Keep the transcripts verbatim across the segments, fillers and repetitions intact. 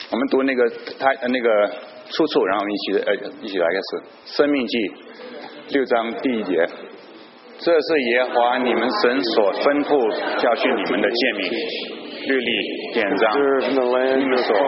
我们读那个他那个出处，然后我们一起呃一起来开始。生命记六章第一节，这是耶和华你们神所吩咐教训你们的诫命、律例、典章，你们所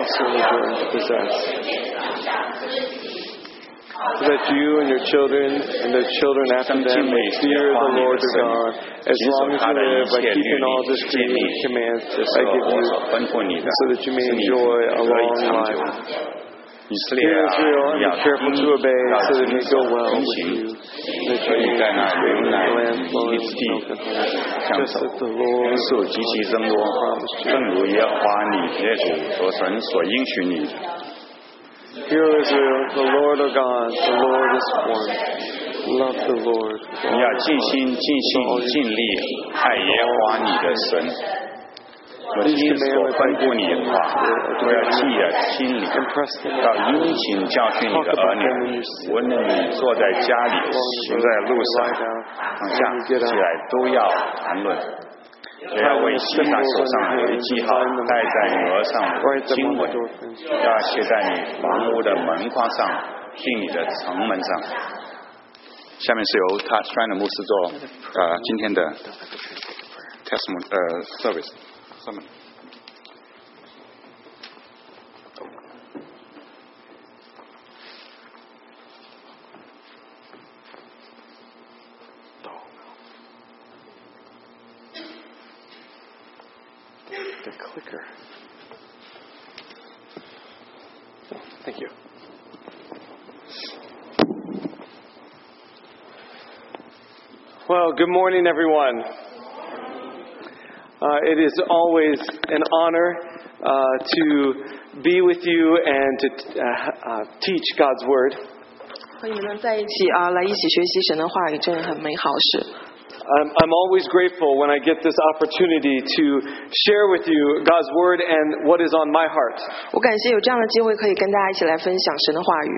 so that you and your children and their children after them may fear the Lord your God, as long as you live by keeping all the decrees and commands that I give you, so that you may enjoy a long life. Hear Israel, and be careful to obey, so that it may go well with you, that you may live in the land flowing with milk and honey, just as the Lord promised you. 正如耶和华你列祖所神所应许你。 Hear Israel, the Lord our God, the Lord is one. Love the Lord. 你要尽心、尽性、尽力爱耶和华你的神。我今所吩咐你的话，都要记在心里，要殷勤教训你的儿女。无论你坐在家里，行在路上，上下起来，都要谈论。也要为系在手上为记号，戴在额上为经文，要写在你房屋的门框上，钉你的城门上。下面是由他川的牧师做呃今天的 testimony 呃 service sermon。 The clicker. Oh, thank you. Well, good morning, everyone. Uh, it is always an honor uh, to be with you and to uh, uh, teach God's Word. 和你们能在一起啊，来一起学习神的话语，真的很美好事。 I'm, I'm always grateful when I get this opportunity to share with you God's Word and what is on my heart. 我感谢有这样的机会可以跟大家一起来分享神的话语。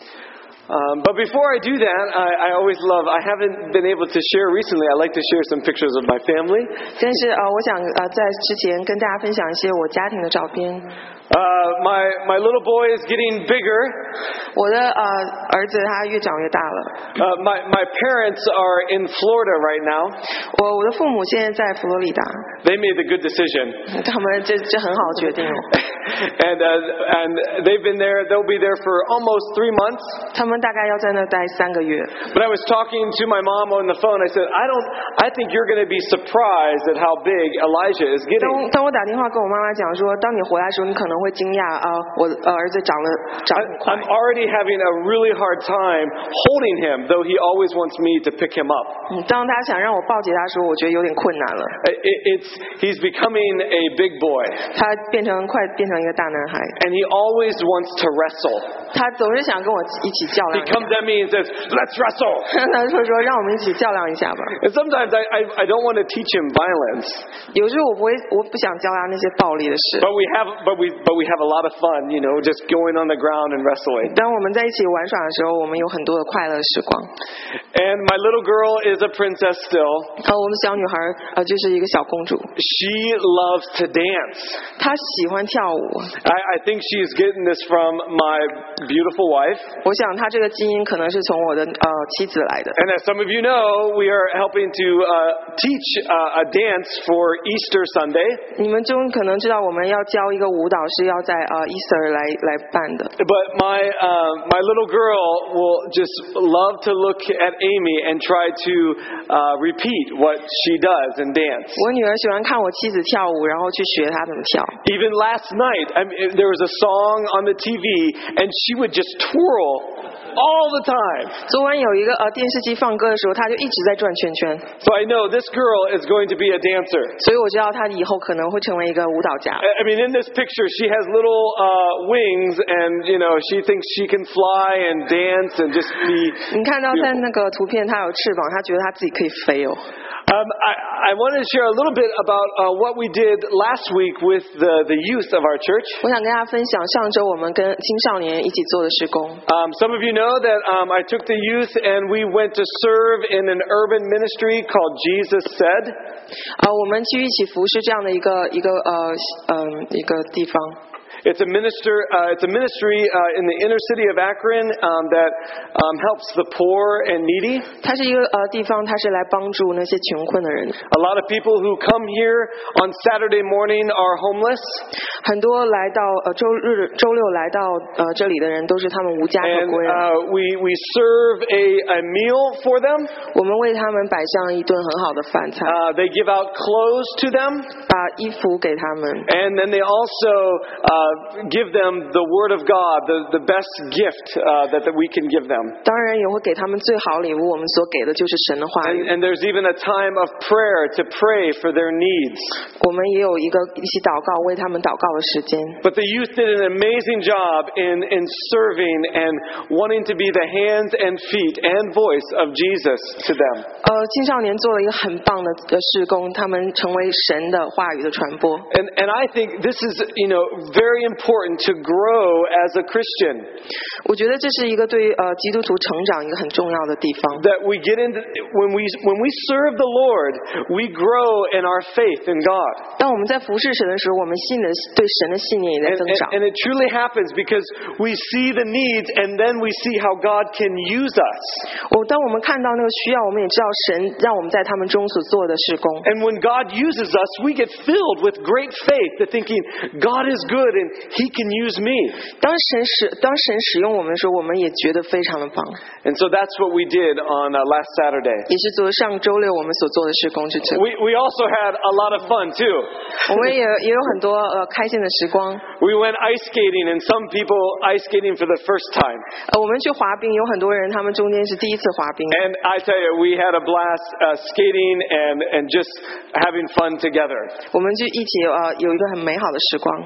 Um, but before I do that, I, I always love, I haven't been able to share recently, I like to share some pictures of my family. 但是呃，我想呃，在之前跟大家分享一些我家庭的照片。 Uh, my my little boy is getting bigger. 我的呃儿子他越长越大了。 Uh, my my parents are in Florida right now. 我我的父母现在在佛罗里达。 They made the good decision. 他们这这很好决定哦。 and uh, and they've been there. They'll be there for almost three months. 他们大概要在那待三个月。 But I was talking to my mom on the phone. I said, I don't. I think you're going to be surprised at how big Elijah is getting. 当当我打电话跟我妈妈讲说，当你回来的时候，你可能会惊讶啊，我呃儿子长了长很快。 I'm already having a really hard time holding him, though he always wants me to pick him up. 嗯，当他想让我抱起他的时候，我觉得有点困难了。 It, it's he's becoming a big boy. 他变成快变成一个大男孩。 And he always wants to wrestle. 他总是想跟我一起较量。 He comes at me and says, "Let's wrestle." 他就说让我们一起较量一下吧。 And sometimes I, I I don't want to teach him violence. 有时候我不会，我不想教他那些暴力的事。 But we have, but we, but we have a lot of fun, you know, just going on the ground and wrestling. 当我们在一起玩耍的时候，我们有很多的快乐时光。 And my little girl is a princess still. 呃，我们小女孩呃就是一个小公主。 She loves to dance. 她喜欢跳舞。 I I think she's getting this from my beautiful wife. 我想她这个基因可能是从我的呃妻子来的。 And as some of you know, we are helping to uh, teach uh, a dance for Easter Sunday. 你们中可能知道我们要教一个舞蹈是要在呃 Easter 来来办的。 But my uh, my little girl will just love to look at Amy and try to uh, repeat what she does and dance. 我女儿喜欢看我妻子跳舞，然后去学她怎么跳。 Even last night, I mean, there was a song on the T V, and she would just twirl all the time. 昨晚有一个呃电视机放歌的时候，她就一直在转圈圈。 So I know this girl is going to be a dancer. 所以我知道她以后可能会成为一个舞蹈家。 I mean, in this picture, she has little uh, wings, and you know, she thinks she can fly and dance and just be. 你看到在那个图片，她有翅膀，她觉得她自己可以飞哦。 Um, I, I want to share a little bit about uh, what we did last week with the, the youth of our church. 我想跟大家分享上周我们跟青少年一起做的事工。 Um, some of you know that um, I took the youth and we went to serve in an urban ministry called Jesus Said. 啊，我们去一起服侍这样的一个一个呃嗯、呃、一个地方。 It's a minister. Uh, it's a ministry uh, in the inner city of Akron um, that um, helps the poor and needy. 它是一个呃地方，它是来帮助那些穷困的人。 A lot of people who come here on Saturday morning are homeless. 很多来到呃周日、周六来到呃这里的人，都是他们无家可 And 归。 uh, we we serve a, a meal for them. 我们为他们摆上一顿很好的饭菜， Uh, they give out clothes to them. 把衣服给他们。 And then they also uh, give them the Word of God, the, the best gift uh, that, that we can give them. 当然也会给他们最好礼物，我们所给的就是神的话 And, 语。 and there's even a time of prayer to pray for their needs. 我们也有一个一起祷告，为他们祷告的时间。 But the youth did an amazing job in, in serving and wanting to be the hands and feet and voice of Jesus to them. 呃，青少年做了一个很棒的的事工，他们成为神的话语的传播。 And, and I think this is, you know, very important to grow as a Christian. 我觉得这是一个对呃基督徒成长一个很重要的地方。 That we get into, when we, when we serve the Lord, we grow in our faith in God. 当我们在服侍神的时候，我们信的对神的信念也在 And, 增 and, 长。 and it truly happens because we see the needs and then we see how God can use us. 我当我们看到那个需要，我们也知道神让我们在他们中所做的事工。 And when God uses us, we get filled with great faith to thinking, God is good and He can use me. 当神使当神使用我们的时候，我们也觉得非常的棒。 And so that's what we did on uh, last Saturday. 也是昨上周六我们所做的事工是这。 We, we also had a lot of fun too. 我们也也有很多呃开心的时光。 We went ice skating and some people ice skating for the first time. 呃，我们去滑冰，有很多人他们中间是第一次滑冰。 And I tell you, we had a blast uh, skating and, and just having fun together. 我们就一起呃有一个很美好的时光。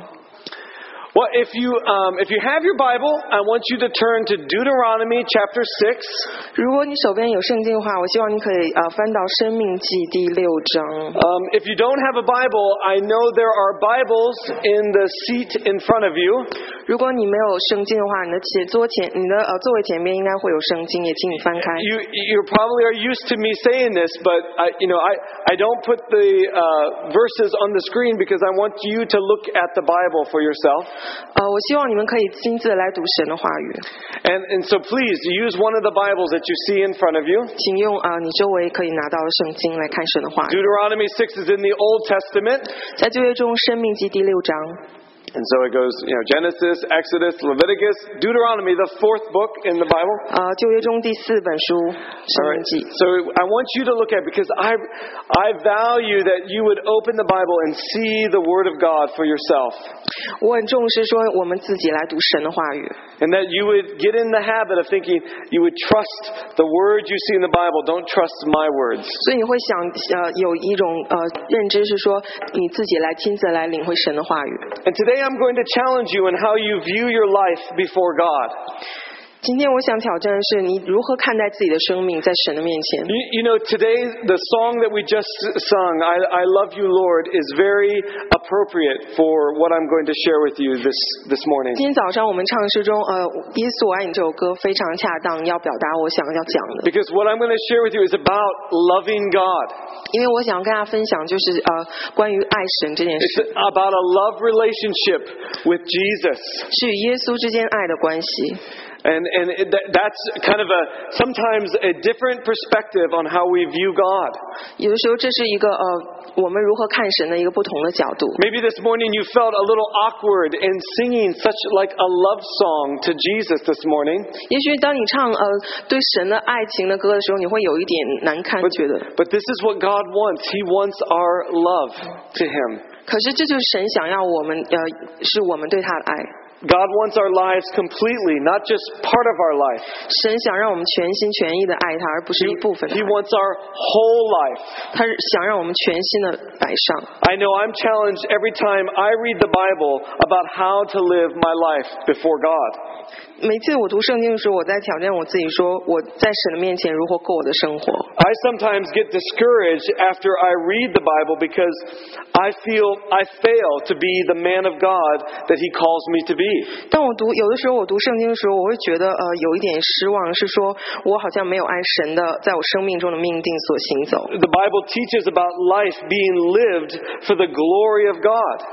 Well, if you um, if you have your Bible, I want you to turn to Deuteronomy chapter six. 如果你手边有圣经的话，我希望你可以呃翻到《生命记》第六章。 Um, if you don't have a Bible, I know there are Bibles in the seat in front of you. 如果你没有圣经的话，你的前桌前你的呃座位前面应该会有圣经，也请你翻开。 You you probably are used to me saying this, but I, you know I, I don't put the uh, verses on the screen because I want you to look at the Bible for yourself. 呃，我希望你们可以亲自来读神的话语， And and so please use one of the Bibles that you see in front of you. 请用啊、呃、你周围可以拿到的圣经来看神的话语。 Deuteronomy six is in the Old Testament. 在旧约中，《生命记》第六章。 And so it goes, you know, Genesis, Exodus, Leviticus, Deuteronomy, the fourth book in the Bible. 呃，旧约中第四本书《生 All 命 right. 记》。 So I want you to look at it because I, I value that you would open the Bible and see the Word of God for yourself. 我很重视说我们自己来读神的话语， And that you would get in the habit of thinking you would trust the words you see in the Bible. Don't trust my words. 所以你会想呃有一种呃认知是说你自己来亲自来领会神的话语。 And today I'm going to challenge you in how you view your life before God. 今天我想挑战的是你如何看待自己的生命在神的面前。 You, you know, today the song that we just sung, I, I Love You, Lord, is very appropriate for what I'm going to share with you this, this morning. 今天早上我们唱诗中，呃，耶稣我爱你这首歌非常恰当，要表达我想要讲的。 Because what I'm going to share with you is about loving God. 因为我想跟大家分享就是呃关于爱神这件 It's 事， about a love relationship with Jesus. 是与耶稣之间爱的关系。 And, and it, that, that's kind of a, sometimes a different perspective on how we view God. 有的时候这是一个呃我们如何看神的一个不同的角度。 Maybe this morning you felt a little awkward in singing such like a love song to Jesus this morning. 也许当你唱呃对神的爱情的歌的时候，你会有一点难堪， But, 觉得。 but this is what God wants. He wants our love to Him. 可是这就是神想要我们呃是我们对他的爱。 God wants our lives completely, not just part of our life. 神想让我们全心全意的爱他，而不是一部分的 He 爱。 wants our whole life. 他是想让我们全心的摆上。 I know I'm challenged every time I read the Bible about how to live my life before God. 每次我读圣经的时候，我在挑战我自己，说我在神的面前如何过我的生活。 I sometimes get discouraged after I read the Bible because I feel I fail to be the man of God that He calls me to be. 当我读有的时候我读圣经的时候，我会觉得呃有一点失望，是说我好像没有按神的在我生命中的命定所行走。 The Bible teaches about life being lived for the glory of God.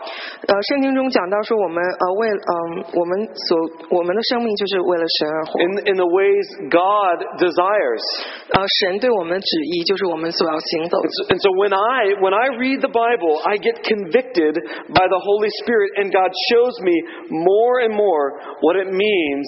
呃，圣经中讲到说，我们呃为嗯、呃、我们所我们的生命就是为了神而活。 In in the ways God desires. 呃，神对我们的旨意就是我们所要行走的。 And so when I when I read the Bible, I get convicted by the Holy Spirit, and God shows me more and more what it means,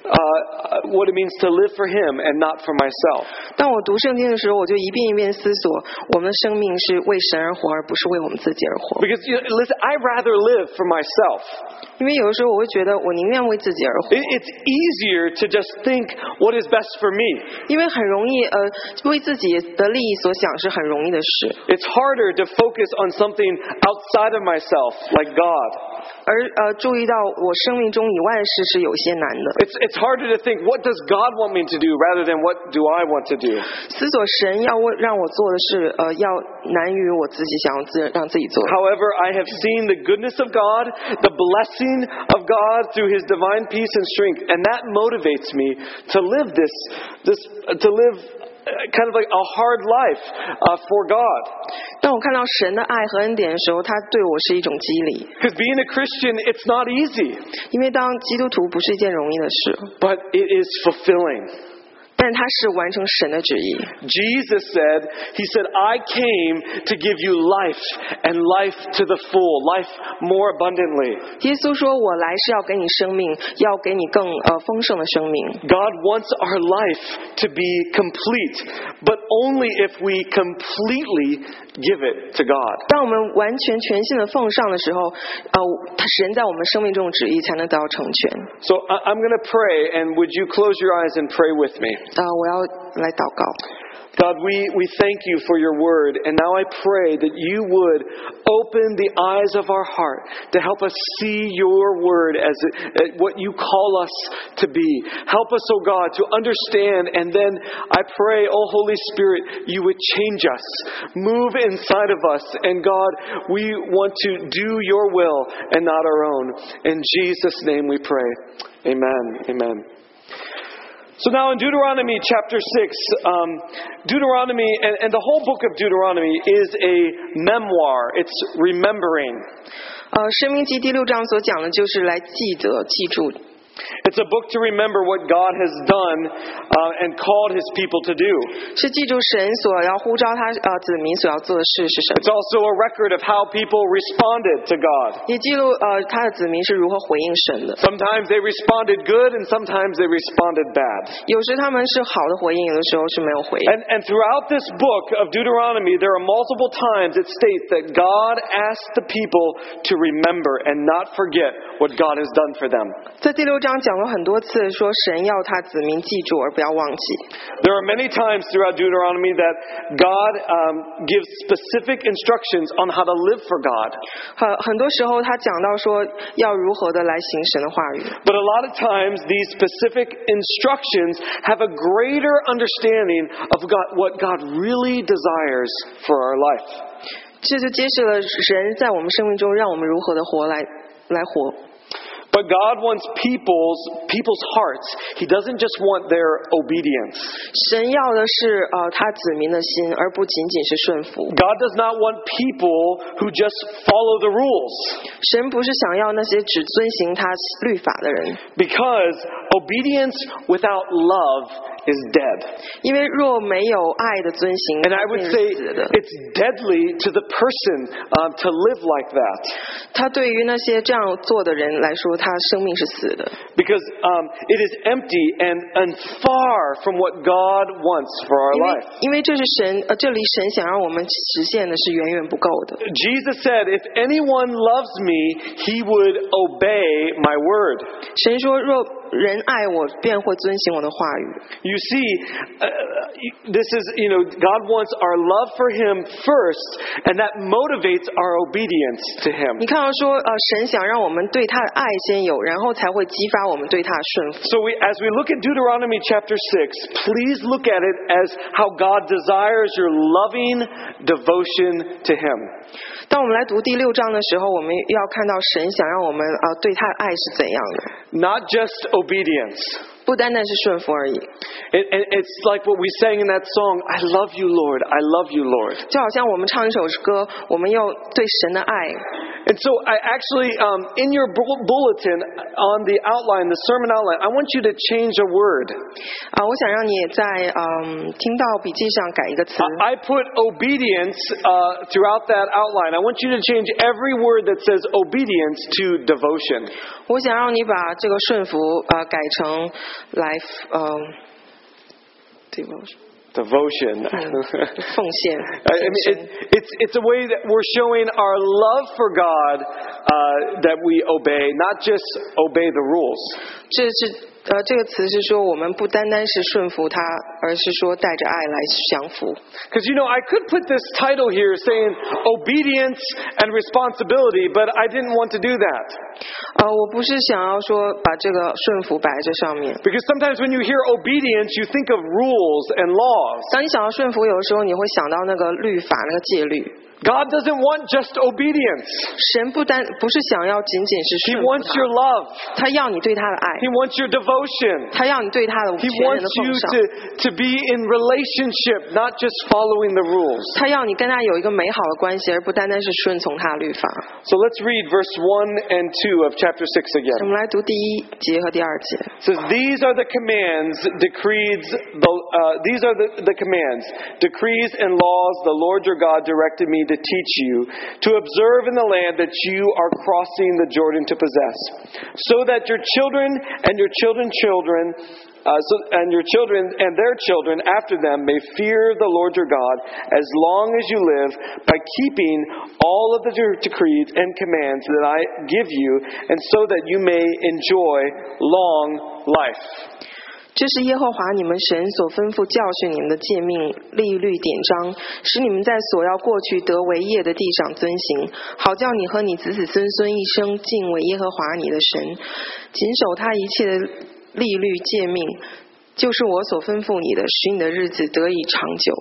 uh, what it means to live for Him and not for myself. 当我读圣经的时候，我就一遍一遍思索，我们的生命是为神而活，而不是为我们自己而活。 Because you know, listen, I rather live for myself. 因为有的时候我会觉得，我宁愿为自己而活。 It, it's easier to just think what is best for me. 因为很容易，呃，为自己的利益所想是很容易的事。 It's harder to focus on something outside of myself, like God. 而呃，注意到我生命中以外的事是有些难的。 It's it's harder to think what does God want me to do rather than what do I want to do. 思索神要为让我做的事，呃，要难于我自己想要自让自己做。 However, I have seen the goodness of God, the blessing of God through His divine peace and strength, and that motivates me to live this this uh, to live kind of like a hard life uh, for God. 当我看到神的爱和恩典的时候，他对我是一种激励。 Because being a Christian, it's not easy, 因为当基督徒不是一件容易的事， but it is fulfilling. 但他是完成神的旨意。 Jesus said, He said, I came to give you life and life to the full, life more abundantly. 耶稣说：“我来是要给你生命，要给你更呃丰盛的生命。” God wants our life to be complete, but only if we completely give it to God. 当我们完全全心的奉上的时候，呃，他神在我们生命中的旨意才能得到成全。 So I- I'm going to pray, and would you close your eyes and pray with me? 啊、我要来祷告。 God, we, we thank you for your word, and now I pray that you would open the eyes of our heart to help us see your word as it, what you call us to be. Help us, oh God, to understand, and then I pray, oh Holy Spirit, you would change us, move inside of us, and God, we want to do your will and not our own. In Jesus' name we pray. Amen. Amen. So now in Deuteronomy chapter six, um, Deuteronomy, and, and the whole book of Deuteronomy is a memoir. It's remembering. 呃，《申命记》第六章所讲的就是来记得、记住。 It's a book to remember what God has done uh, and called His people to do. 是记住神所要呼召他呃子民所要做的事是什么， It's also a record of how people responded to God. 也记录呃他的子民是如何回应神的。 Sometimes they responded good, and sometimes they responded bad. 有时他们是好的回应，有的时候是没有回应。 And, and throughout this book of Deuteronomy, there are multiple times it states that God asked the people to remember and not forget what God has done for them. 在第六章讲过很多次，说神要他子民记住而不要忘记。 There are many times throughout Deuteronomy that God um, gives specific instructions on how to live for God. 很很多时候他讲到说要如何的来行神的话语， But a lot of times these specific instructions have a greater understanding of God, what God really desires for our life. 这就揭示了神在我们生命中让我们如何的活来来活。 But God wants people's people's hearts. He doesn't just want their obedience. 神要的是呃他子民的心，而不仅仅是顺服。 God does not want people who just follow the rules. 神不是想要那些只遵行他律法的人， Because obedience without love is dead. 因为若没有爱的遵行， And I would 便 say 是死的。 it's deadly to the person uh, to live like that. 他对于那些这样做的人来说，他生命是死的， Because um, it is empty and, and far from what God wants for our 因为 life. 因为这是神呃，这里神想让我们实现的是远远不够的。 Jesus said, if anyone loves me, he would obey my word. 神说，若人爱我，便会遵行我的话语。 You see, uh, this is, you know, God wants our love for Him first, and that motivates our obedience to Him. 你看到说，呃，神想让我们对他的爱先有，然后才会激发我们对他的顺服。 So we, as we look at Deuteronomy chapter six, please look at it as how God desires your loving devotion to Him. 当我们来读第六章的时候，我们要看到神想让我们呃对他的爱是怎样的， Not just obedience. 不单单是顺服而已。 It, it, it's like what we sang in that song, I love you, Lord, I love you, Lord. 就好像我们唱一首歌，我们要对神的爱， And so I actually, um, in your bulletin, on the outline, the sermon outline, I want you to change a word. 啊，我想让你在嗯听到笔记上改一个词。 I put obedience uh, throughout that outline. I want you to change every word that says obedience to devotion. 我想让你把这个顺服呃改成来嗯 devotion。 Devotion. 奉献。 I mean, it, it's, it's a way that we're showing our love for God uh, that we obey, not just obey the rules. 这是呃这个词是说我们不单单是顺服他，而是说带着爱来降服。 Because you know, I could put this title here saying obedience and responsibility, but I didn't want to do that. 呃，我不是想要说把这个顺服摆在这上面。 Because sometimes when you hear obedience, you think of rules and laws. 当你想到顺服，有的时候你会想到那个律法、那个戒律。 God doesn't want just obedience. 神不单不是想要仅仅是 He 顺服 wants your love. 他，他要你对他的爱， He wants your devotion. 他要你对他的 He 全人 wants 的奉 you 上， to, to be in relationship, not just following the rules. 他要你跟他有一个美好的关系，而不单单是顺从他的律法。 So let's read verse one and two of chapter six 我 again. 们来读第一节和第二节。 It says, These are the commands, decrees, the, uh, these are the, the commands, decrees and laws the Lord your God directed me to teach you, to observe in the land that you are crossing the Jordan to possess, so that your children and your children's children Uh, so, and your children and their children after them may fear the Lord your God as long as you live, by keeping all of the decrees and commands that I give you, and so that you may enjoy long life. 这是耶和华你们神所吩咐教训你们的诫命、律律典章，使你们在所要过去得为业的地上遵行，好叫你和你子子孙孙一生敬畏耶和华你的神，谨守他一切的律律诫命，就是我所吩咐你的，使你的日子得以长久。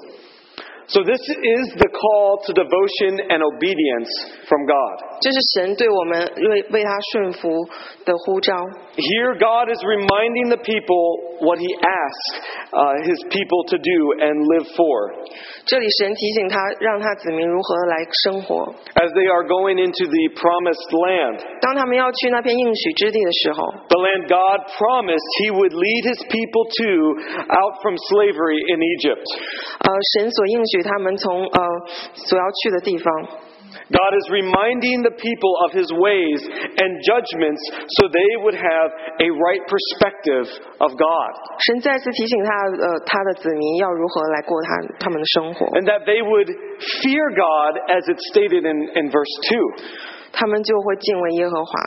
So this is the call to devotion and obedience from God. 这是神对我们为为他顺服的呼召。 Here God is reminding the people what He asked uh, His people to do and live for. 这里神提醒他，让他子民如何来生活。 As they are going into the promised land. 当他们要去那片应许之地的时候， The land God promised He would lead His people to out from slavery in Egypt. 呃，神所应许他们从呃所要去的地方。 God is reminding the people of His ways and judgments so they would have a right perspective of God. 神再次提醒他，呃，他的子民要如何来过他他们的生活， And that they would fear God as it's stated in, in verse two. 他们就会敬畏耶和华。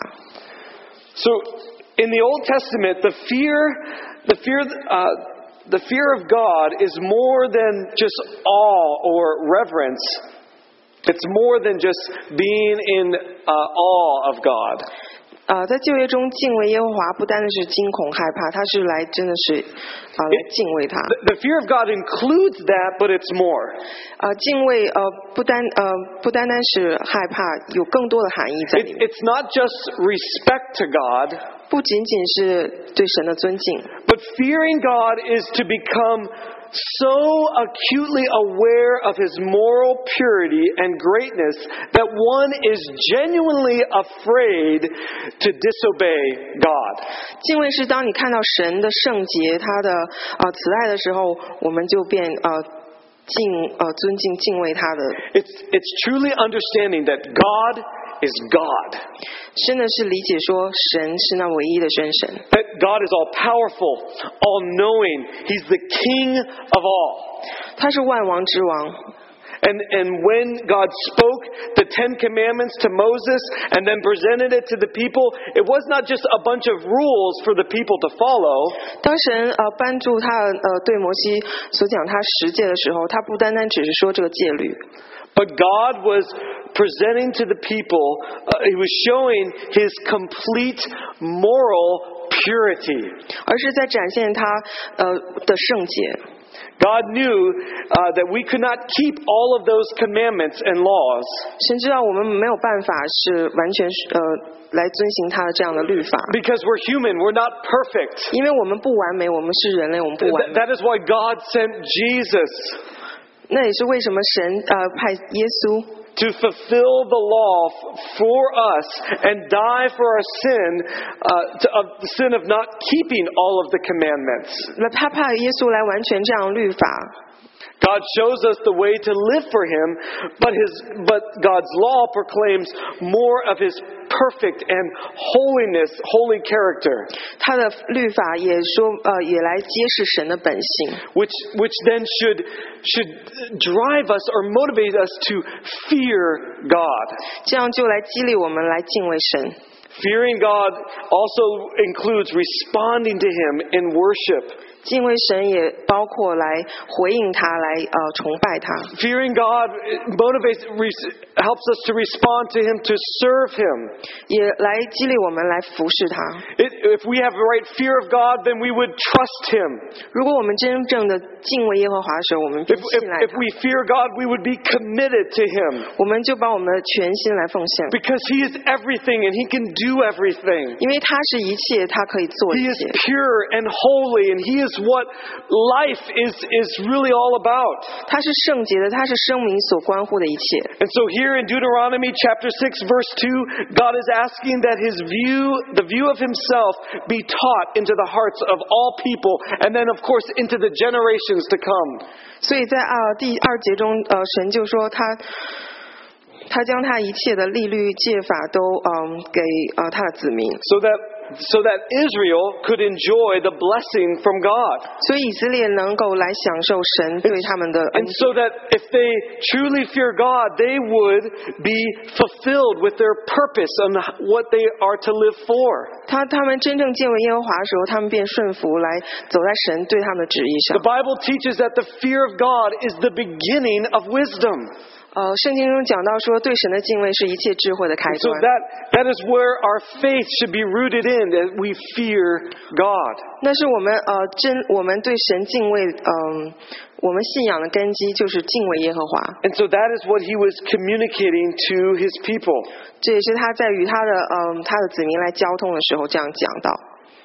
So in the Old Testament, the fear, the fear, uh, the fear of God is more than just awe or reverence. It's more than just being in uh, awe of God. 呃，在旧约中敬畏耶和华，不单单是惊恐害怕，他是来真的是啊、呃、来敬畏他。 The, the fear of God includes that, but it's more. 呃，敬畏呃不单呃不单单是害怕，有更多的含义在 It, 里面。 it's not just respect to God, 不仅仅是对神的尊敬， but fearing God is to become so acutely aware of His moral purity and greatness that one is genuinely afraid to disobey God. 敬畏是当你看到神的圣洁、他的呃慈爱的时候，我们就变呃敬呃尊敬敬畏他的。 It's, it's truly understanding that God is God. 真的是理解说神是那唯一的真神。 That God is all powerful, all knowing. He's the King of all. 他是万王之王。 And, and when God spoke the Ten Commandments to Moses and then presented it to the people, it was not just a bunch of rules for the people to follow. 当神呃颁布他呃对摩西所讲他十诫的时候，他不单单只是说这个戒律。 But God was presenting to the people, uh, He was showing His complete moral purity. 而是在展现他呃的圣洁。 God knew uh, that we could not keep all of those commandments and laws. 神知道我们没有办法是完全呃来遵行他的这样的律法， Because we're human, we're not perfect. 因为我们不完美，我们是人类，我们不完 Th- 美。 that is why God sent Jesus. 那也是为什么神呃派耶稣。 to fulfill the law for us and die for our sin, uh, to, of the sin of not keeping all of the commandments. 那他派耶稣来完全这样律法。 God shows us the way to live for Him, but His but God's law proclaims more of His perfect and holiness, holy character. 他的律法也说，呃，也来揭示神的本性。 Which which then should should drive us or motivate us to fear God. 这样就来激励我们来敬畏神。 Fearing God also includes responding to Him in worship. 敬畏神也包括来回应他，来呃崇拜他。 Fearing God motivates, helps us to respond to Him, to serve Him. 也来激励我们来服侍他。 It, if we have the right fear of God, then we would trust Him. 如果我们真正的敬畏耶和华的时候，我们便 If, 信赖 if, if 他。 we fear God, we would be committed to Him. 我们就把我们的全心来奉献， Because He is everything and He can do everything. 因为他是一切，他可以做 He 一 is 切。 pure and holy, and He is what life is, is really all about. 他是圣洁的，他是生命所关乎的一切。 And so here in Deuteronomy chapter six verse two, God is asking that His view, the view of Himself, be taught into the hearts of all people, and then of course into the generations to come. 所以在啊第二节中，呃，神就说他他将他一切的律律戒法都嗯给呃他的子民， So that so that Israel could enjoy the blessing from God. 所以以色列能够来享受神对他们的恩 And so that if they truly fear God, they would be fulfilled with their purpose on what they are to live for. 他他们真正敬畏耶和华的时候，他们便顺服来走在神对他们的旨意上 The。Bible teaches that the fear of God is the beginning of wisdom. 呃，圣经中讲到说，对神的敬畏是一切智慧的开 So 端。 that, that is where our faith should be rooted in, that we fear God. 那是我们呃真我们对神敬畏，嗯、我们信仰的根基就是敬畏耶和华。 And so that is what He was communicating to His people. 这也是他在与他的嗯、他的子民来交通的时候这样讲到。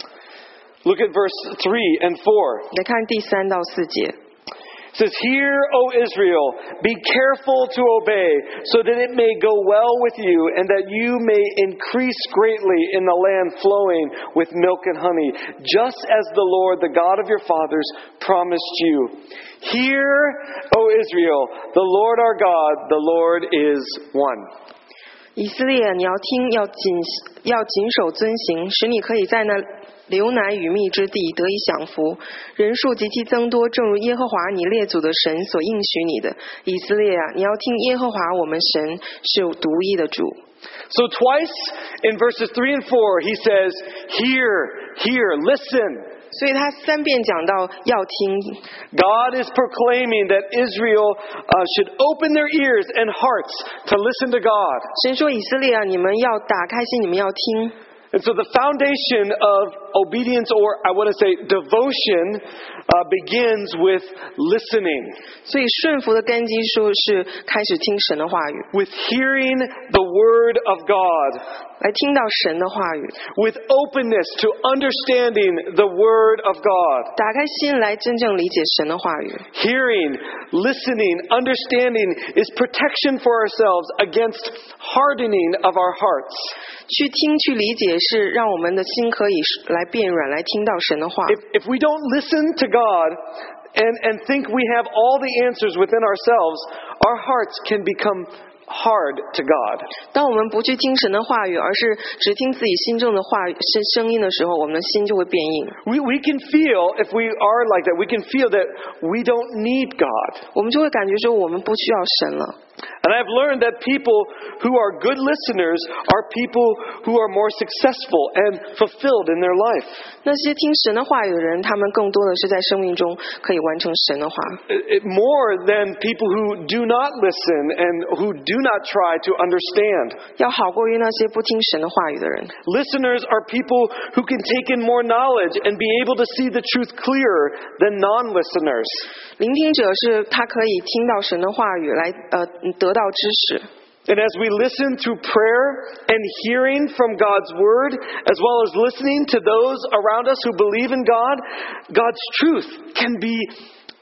Look at verse three and four. 来看第三到四节。 It says, Hear, O Israel, be careful to obey, so that it may go well with you, and that you may increase greatly in the land flowing with milk and honey, just as the Lord, the God of your fathers, promised you. Hear, O Israel, the Lord our God, the Lord is one. 以色列，你要听，要谨要谨守遵行，使你可以在那流奶与蜜之地得以享福，人数极其增多，正如耶和华你列祖的神所应许你的。以色列啊，你要听耶和华我们神是独一的主。 So twice in verses three and four, he says, Hear, hear, listen. 所以他三遍讲到要听。 God is proclaiming that Israel uh, should open their ears and hearts to listen to God. 神说以色列啊，你们要打开心，你们要听。 And so the foundation of obedience, or I want to say devotion, uh, begins with listening. 所以顺服的根基说是开始听神的话语， With hearing the word of God. 来听到神的话语， With openness to understanding the word of God. 打开心来真正理解神的话语。 Hearing, listening, understanding is protection for ourselves against hardening of our hearts. 去听去理解是让我们的心可以来变软，来听到神的话。 If, if we don't listen to God and, and think we have all the answers within ourselves, our hearts can become hard to God. 当我们不去听神的话语，而是只听自己心中的话语声声音的时候，我们的心就会变硬。 We, we can feel, if we are like that, we can feel that we don't need God. 我们就会感觉说我们不需要神了。 And I've learned that people who are good listeners are people who are more successful and fulfilled in their life. 那些听神的话语的人，他们更多的是在生命中可以完成神的话， It, it, more than people who do not listen and who do not try to understand. 要好过于那些不听神的话语的人。 Listeners are people who can take in more knowledge and be able to see the truth clearer than non-listeners. 聆听者是他可以听到神的话语来呃得到知识。 And as we listen through prayer and hearing from God's word, as well as listening to those around us who believe in God, God's truth can be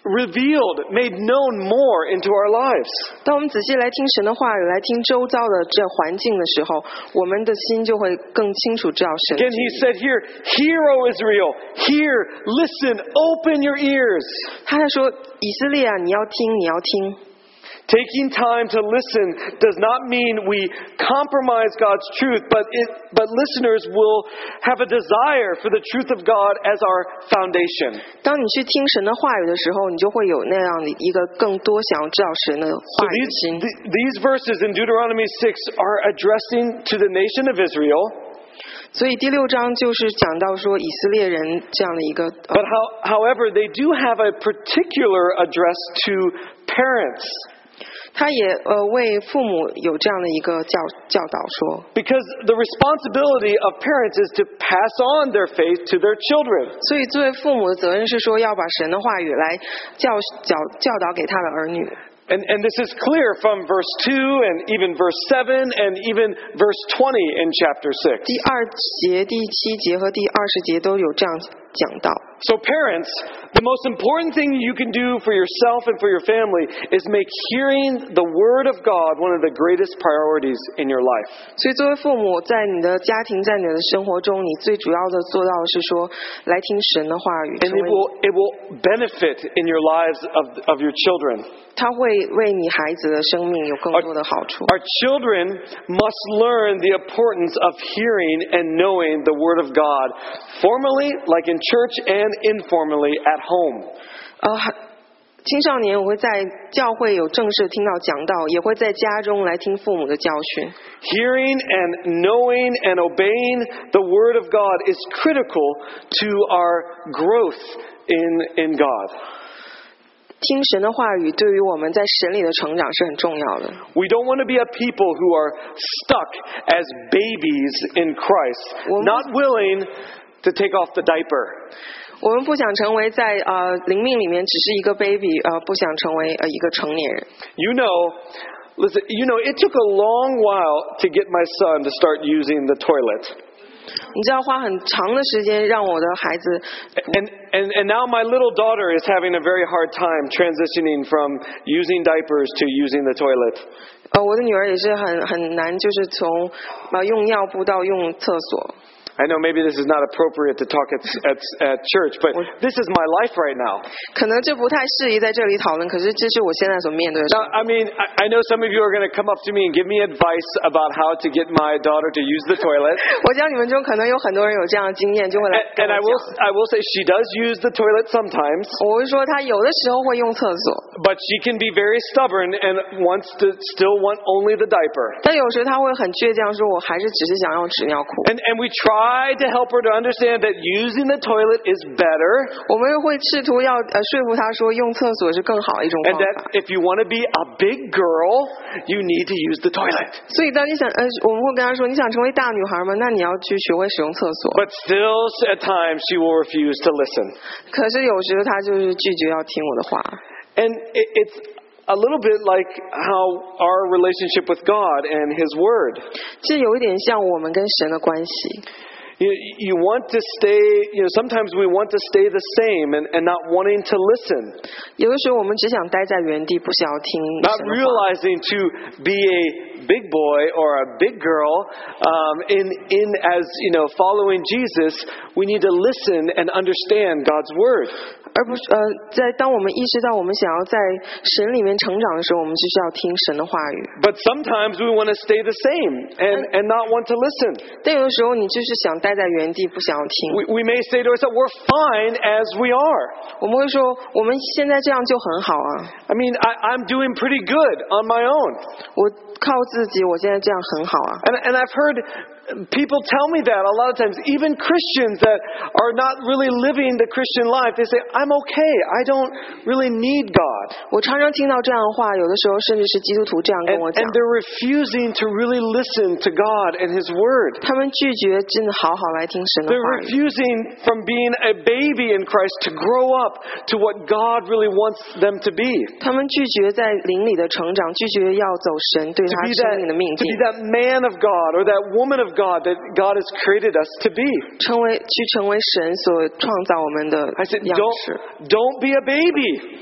revealed, made known more into our lives. 当我们仔细来听神的话语，来听周遭的这环境的时候，我们的心就会更清楚知道神。 Again, he said here, "Hear, O Israel, hear, listen, open your ears." 他在说以色列啊，你要听，你要听。 Taking time to listen does not mean we compromise God's truth, but it, but listeners will have a desire for the truth of God as our foundation. 当你去听神的话语的时候，你就会有那样的一个更多想要知道神的 So 话语的 these, 心。 th- these verses in Deuteronomy six are addressing to the nation of Israel. 所以第六章就是讲到说以色列人这样的一个。呃 But how, however, they do have a particular address to parents. 他也呃为父母有这样的一个教教导说， Because the responsibility of parents is to pass on their faith to their children. 所以作为父母的责任是说要把神的话语来教教教导给他的儿女。 And, and this is clear from verse two and even verse seven and even verse twenty in chapter six. 第二节、第七节和第二十节都有这样讲到。 So parents, the most important thing you can do for yourself and for your family is make hearing the word of God one of the greatest priorities in your life. 所以作为父母，在你的家庭、在你的生活中，你最主要的做到的是说，来听神的话语， And 成为 it will, it will benefit in your lives of, of your children. 他会为你孩子的生命有更多的好处。 Our children must learn the importance of hearing and knowing the word of God formally, like in church, and informally at home. 呃，还青少年我会在教会有正式听到讲道，也会在家中来听父母的教训。 Hearing and knowing and obeying the word of God is critical to our growth in, in God. 听神的话语对于我们在神里的成长是很重要的。 We don't want to be a people who are stuck as babies in Christ, not willing to take off the diaper. 我们不想成为在呃灵命里面只是一个 baby， 呃，不想成为呃一个成年人。 You know, listen, you know, it took a long while to get my son to start using the toilet. 你知道花很长的时间让我的孩子， And, and, and now my little daughter is having a very hard time transitioning from using diapers to using the toilet. 呃，我的女儿也是很很难，就是从呃用尿布到用厕所。 I know maybe this is not appropriate to talk at, at, at church, but this is my life right now. 可能这不太适宜在这里讨论，可是这是我现在所面对的事。 Now, I mean, I, I know some of you are going to come up to me and give me advice about how to get my daughter to use the toilet. 我讲你们中可能有很多人有这样的经验，就会来 And, 跟 and I 我 will, 讲。 I will say she does use the toilet sometimes, 我会说她有的时候会用厕所， but she can be very stubborn and wants to still want only the diaper. 但有时她会很倔强，说我还是只是想要纸尿裤。 And, and we try to help her to understand that using the toilet is better, 我们会试图要呃说服她说用厕所是更好的一种 and 方 that 法。 if you want to be a big girl, you need to use the toilet. 所以当你想呃，我们会跟她说你想成为大女孩吗？那你要去学会使用厕所。 But still, at times, she will refuse to listen. 可是有时候她就是拒绝要听我的话。 And it, it's a little bit like how our relationship with God and His Word. 这有一点像我们跟神的关系。 You, you want to stay, you know, sometimes we want to stay the same and, and not wanting to listen. 有的时候我们只想待在原地，不想要听 Not 神的话。 realizing to be a big boy or a big girl um, in, in as, you know, following Jesus, we need to listen and understand God's Word. 而不是呃，在当我们意识到我们想要在神里面成长的时候，我们就需要听神的话语。 But sometimes we want to stay the same and, and not want to listen. 但有的时候你就是想待在原地，不想要听。 We, we may say to ourselves, we're fine as we are. 我们会说，我们现在这样就很好啊， I mean, I, I'm doing pretty good on my own. 我靠自己，我现在这样很好啊。 And, and I've heard people tell me that a lot of times, even Christians that are not really living the Christian life, they say, I'm okay. I don't really need God. 我常常听到这样的话，有的时候甚至是基督徒这样跟 And, 我讲 and，they're refusing to really listen to God and His Word. 他们拒绝真的好好来听神的 They're 话语。 refusing from being a baby in Christ to grow up to what God really wants them to be. 他们拒绝在灵里的成长，拒绝要走神对 To 他 be 生 that, 命的命 to 定 be，that man of God or that woman of God that God has created us to be. 成为去成为神所创造我们的 I said, 样 don't, 式。 don't be a baby.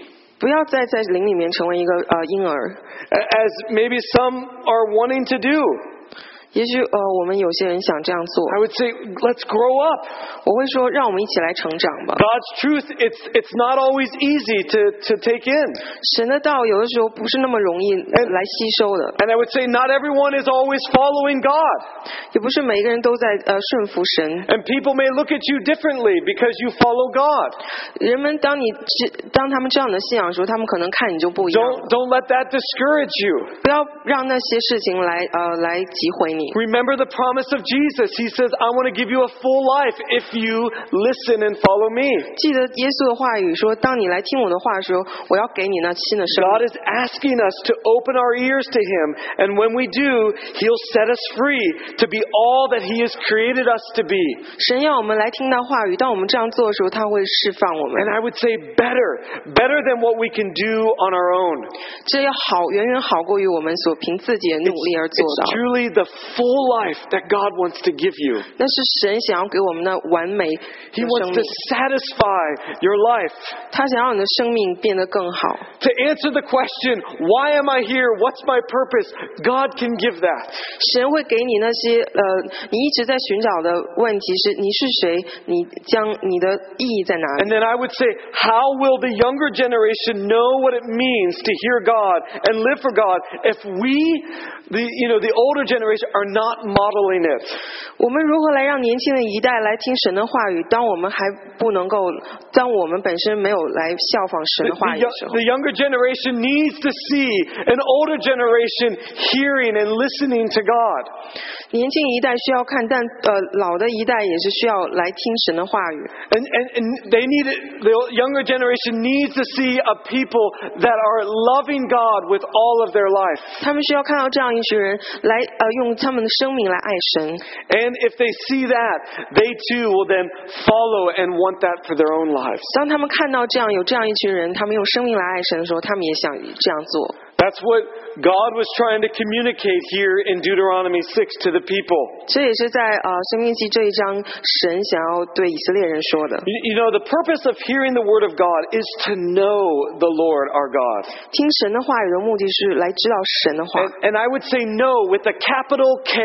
不要再在灵里面成为一个呃婴儿。 As maybe some are wanting to do. 也许呃，我们有些人想这样做。 I would say, let's grow up. 我会说，让我们一起来成长吧。 God's truth, it's it's not always easy to to take in. 神的道有的时候不是那么容易来吸收的。 And I would say, not everyone is always following God. 也不是每一个人都在呃顺服神。 And people may look at you differently because you follow God. 人们当你当他们这样的信仰的时候，他们可能看你就不一样。 Don't don't let that discourage you. 不要让那些事情来呃来击毁你。 Remember the promise of Jesus. He says, I want to give you a full life if you listen and follow me. 记得耶稣的话语说，当你来听我的话的时候，我要给你那新的生命。 God is asking us to open our ears to Him, and when we do, He'll set us free to be all that He has created us to be. 神要我们来听他话语，当我们这样做的时候，他会释放我们。 And I would say better, better than what we can do on our own. 这要好，远远好过于我们所凭自己的努力而做 It's 到。 truly the full life that God wants to give you. 那是神想要给我们的完美的 He 生 wants 命 to， satisfy your life. 他想让你的生命变得更好。 To answer the question, why am I here? What's my purpose? God can give that. 神会给你那些呃，你一直在寻找的问题是你是谁，你将你的意义在哪里？ And then I would say, how will the younger generation know what it means to hear God and live for God if we, the you know, the older generation are not modeling it? 我们如何来让年轻的一代来听神的话语？当我们还不能够，当我们本身没有来效仿神 The, 的话 the 语的时 yo- 候， the younger generation needs to see an older generation hearing and listening to God. 年轻一代需要看，但呃，老的一代也是需要来听神的话语。 And, and, and they need it, the younger generation needs to see a people that are loving God with all of their life. 他们需要看到这样一群人来呃，用他们的生命来爱神。 And if they see that, they too will then follow and want that for their own lives. 当他们看到这样有这样一群人，他们用生命来爱神的时候，他们也想这样做。 That's what God was trying to communicate here in Deuteronomy six to the people. 这也是在呃生命记这一章，神想要对以色列人说的。 You, you know, the purpose of hearing the word of God is to know the Lord our God. 听神的话语的目的是来知道神的话。 And, and I would say know with a capital K.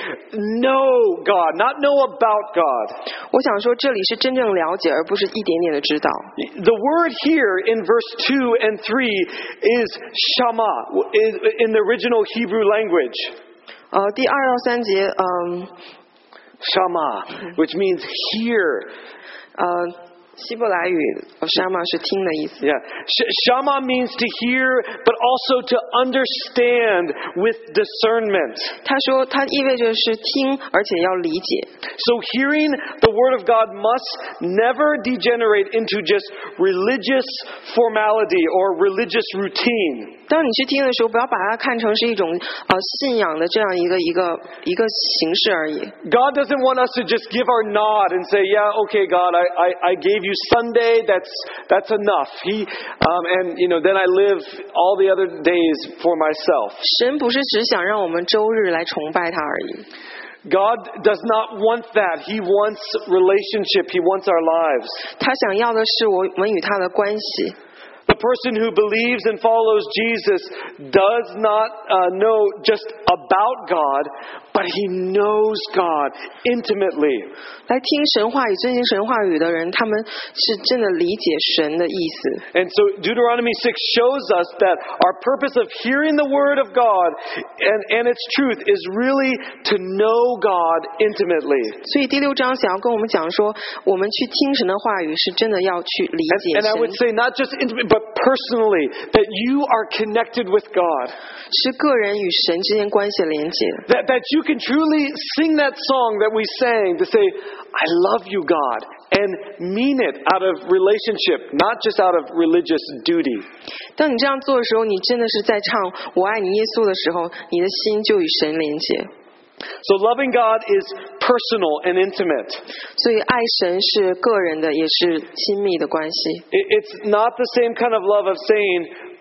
Know God, not know about God. 我想说，这里是真正了解，而不是一点点的知道。 The word here in verse two and three is shama in the original Hebrew language. 呃，第二到三节，嗯、 Shama, which means hear. 呃，希伯来语呃 shama 是听的意思。 Yeah. Sh- Shama means to hear, but also to understand with discernment. 他说，它意味着是听，而且要理解。 So hearing the word of God must never degenerate into just religious formality or religious routine. 当你去听的时候，不要把它看成是一种呃信仰的这样一个一个一个形式而已。 God doesn't want us to just give our nod and say, yeah, okay, God, I, I, I gave you Sunday, that's, that's enough. He, um, and, you know, then I live all the other days for myself. 神不是只想让我们周日来崇拜他而已。 God does not want that. He wants relationship. He wants our lives. 他想要的是我们与他的关系。 The person who believes and follows Jesus does not uh, know just about God, but he knows God intimately. 来听神话语、遵行神话语的人，他们是真的理解神的意思。 And so Deuteronomy six shows us that our purpose of hearing the word of God and, and its truth is really to know God intimately. 所以第六章想要跟我们讲说，我们去听神的话语，是真的要去理 And, 解 and I would 神， say not just intimate, but personally, that you are connected with God. 是个人与神之间关系的连接。 That, that you can truly sing that song that we sang to say, I love you, God, and mean it out of relationship, not just out of religious duty. 当你这样做的时候，你真的是在唱我爱你耶稣的时候，你的心就与神连接。 So loving God is personal and intimate. 所以爱神是个人的，也是亲密的关系。 It, it's not the same kind of love of saying,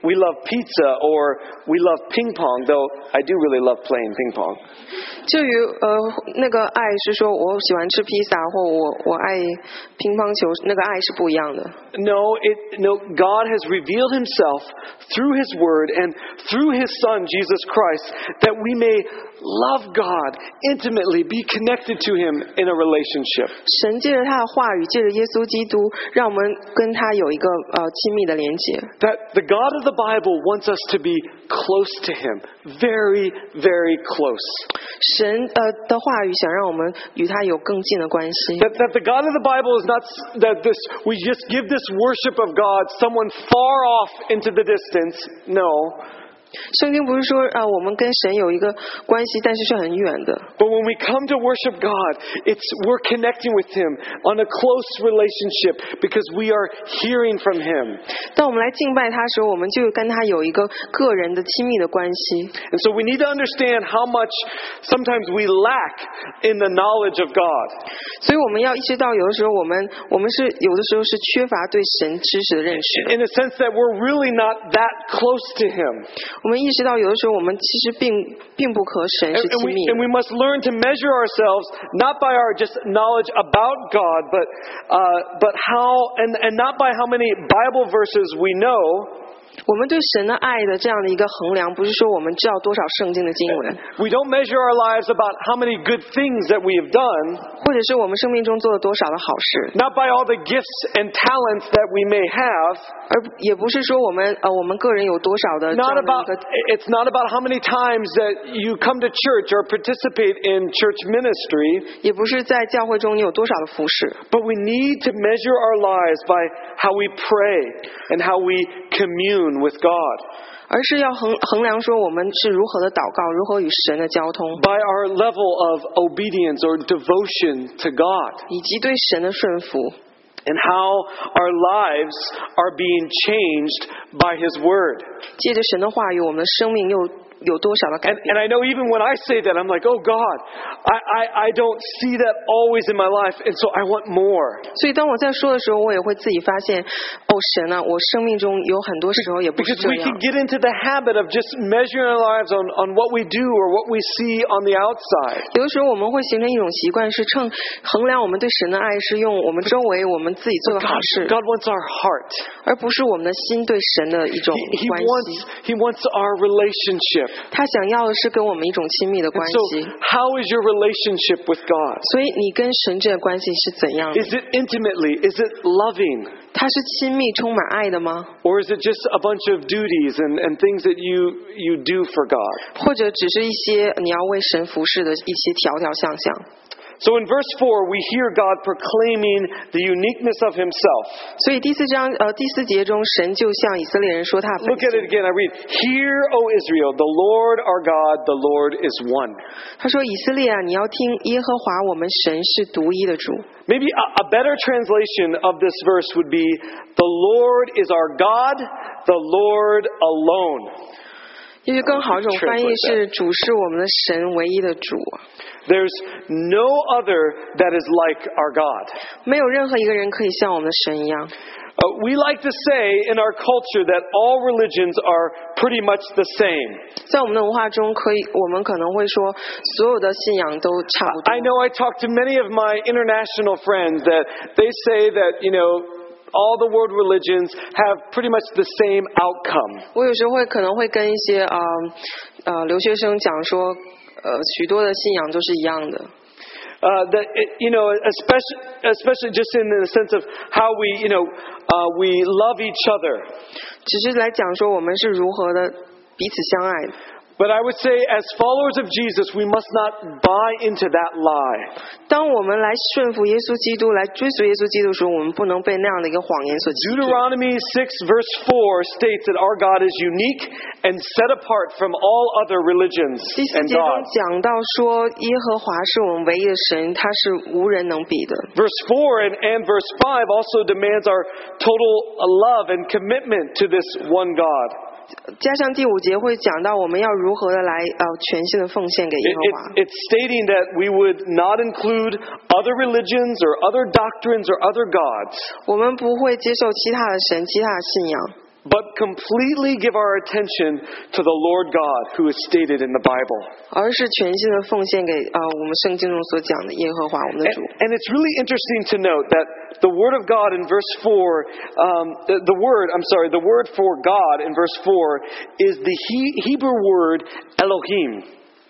we love pizza or we love ping pong, though I do really love playing ping pong. 至于呃那个爱是说我喜欢吃披萨或我我爱乒乓球，那个爱是不一样的。 No, it, no, God has revealed himself through his word and through his son, Jesus Christ, that we may love God intimately, be connected to him in a relationship. 神借着他的话语，借着耶稣基督，让我们跟他有一个呃亲密的连结。 That the God of the Bible wants us to be close to him, very, very close. 神呃的话语想让我们与他有更近的关系。 That, that the God of the Bible is not that this we just give this worship of God someone far off into the distance. No. 圣经不是说呃我们跟神有一个关系，但是是很远的。 But when we come to worship God, it's we're connecting with him on a close relationship because we are hearing from him. 当我们来敬拜他的时候，我们就跟他有一个个人的亲密的关系。 And so we need to understand how much sometimes we lack in the knowledge of God. 所以我们要意识到，有的时候我们我们是有的时候是缺乏对神知识的认识。 In a sense that we're really not that close to him. 我们意识到，有的时候我们其实并并不和神 And, 是 and, 亲 we, 密的。 and we must learn to measure ourselves not by our just knowledge about God, but uh, but how and, and not by how many Bible verses we know. 我们对神的爱的这样的一个衡量，不是说我们知道多少圣经的经文， We don't measure our lives about how many good things that we have done, 或者是我们生命中做了多少的好事， not by all the gifts and talents that we may have, 而也不是说我们呃我们个人有多少的这 not 样的一 about 个， it's not about how many times that you come to church or participate in church ministry, 也不是在教会中你有多少的服侍， but we need to measure our lives by how we pray and how we commune with God, 而是要衡衡量说我们是如何的祷告，如何与神的交通， by our level of obedience or devotion to God, 以及对神的顺服， and how our lives are being changed by His Word. 借着神的话语，我们的生命又有多少的改 And, 变。 and I know even when I say that, I'm like, oh God, I, I, I don't see that always in my life, and so I want more. 所以当我在说的时候，我也会自己发现，哦，神啊，我生命中有很多时候也不是 Because 这 we 样 can。get into the habit of just measuring our lives on, on what we do or what we see on the outside. 有的时候我们会形成一种习惯，是称衡量我们对神的爱是用我们周围我们自己做的好 God, 事， God wants our heart. 而不是我们的心对神的一种 He, he 关 wants 系。 He wants our relationship. 他想要的是跟我们一种亲密的 And 关 so, 系。 how is your relationship with God? 所以你跟神这个关系是怎样的？ Is it intimately? Is it loving? 它是亲密、充满爱的吗？ Or is it just a bunch of duties and, and things that you, you do for God? 或者只是一些你要为神服侍的一些条条项项？ So in verse four, we hear God proclaiming the uniqueness of Himself. 所以第四章呃第四节中，神就向以色列人说他的 Look 本 at it 性。 again. I read, Hear, O Israel, the Lord our God, the Lord is one. 他说：“以色列啊，你要听耶和华我们神是独一的主。” Maybe a, a better translation of this verse would be, The Lord is our God, the Lord alone. 也许更好一种翻译是“主是我们的神，唯一的主”。 There's no other that is like our God. 没有任何一个人可以像我们的神一样。 Uh, we like to say in our culture that all religions are pretty much the same. 在我们的文化中，可以我们可能会说，所有的信仰都差不多。 I know I talk to many of my international friends that they say that, you know, all the world religions have pretty much the same outcome. 我有时候会可能会跟一些呃呃留学生讲说，呃许多的信仰都是一样的。 Uh, that it, you know, especially especially just in the sense of how we, you know, uh, we love each other. 只是来讲说我们是如何的彼此相爱的。 But I would say, as followers of Jesus, we must not buy into that lie. 当我们来顺服耶稣基督，来追随耶稣基督的时候，我们不能被那样的一个谎言所欺骗。 Deuteronomy six verse four states that our God is unique and set apart from all other religions 第四 and 节中 gods. 讲到说，耶和华是我们唯一的神，他是无人能比的。 Verse four and, and verse five also demands our total love and commitment to this one God. 加上第五节会讲到我们要如何的来呃全心的奉献给耶 It, 和 it, 华。 it's stating that we would not include other religions or other doctrines or other gods. 我们不会接受其他的神、其他的信仰。 but completely give our attention to the Lord God who is stated in the Bible. 而是全心的奉献给呃我们圣经中所讲的耶和华我们的 And, 主。 and it's really interesting to note that the word of God in verse four, um, the, the word, I'm sorry, the word for God in verse four is the he, Hebrew word Elohim.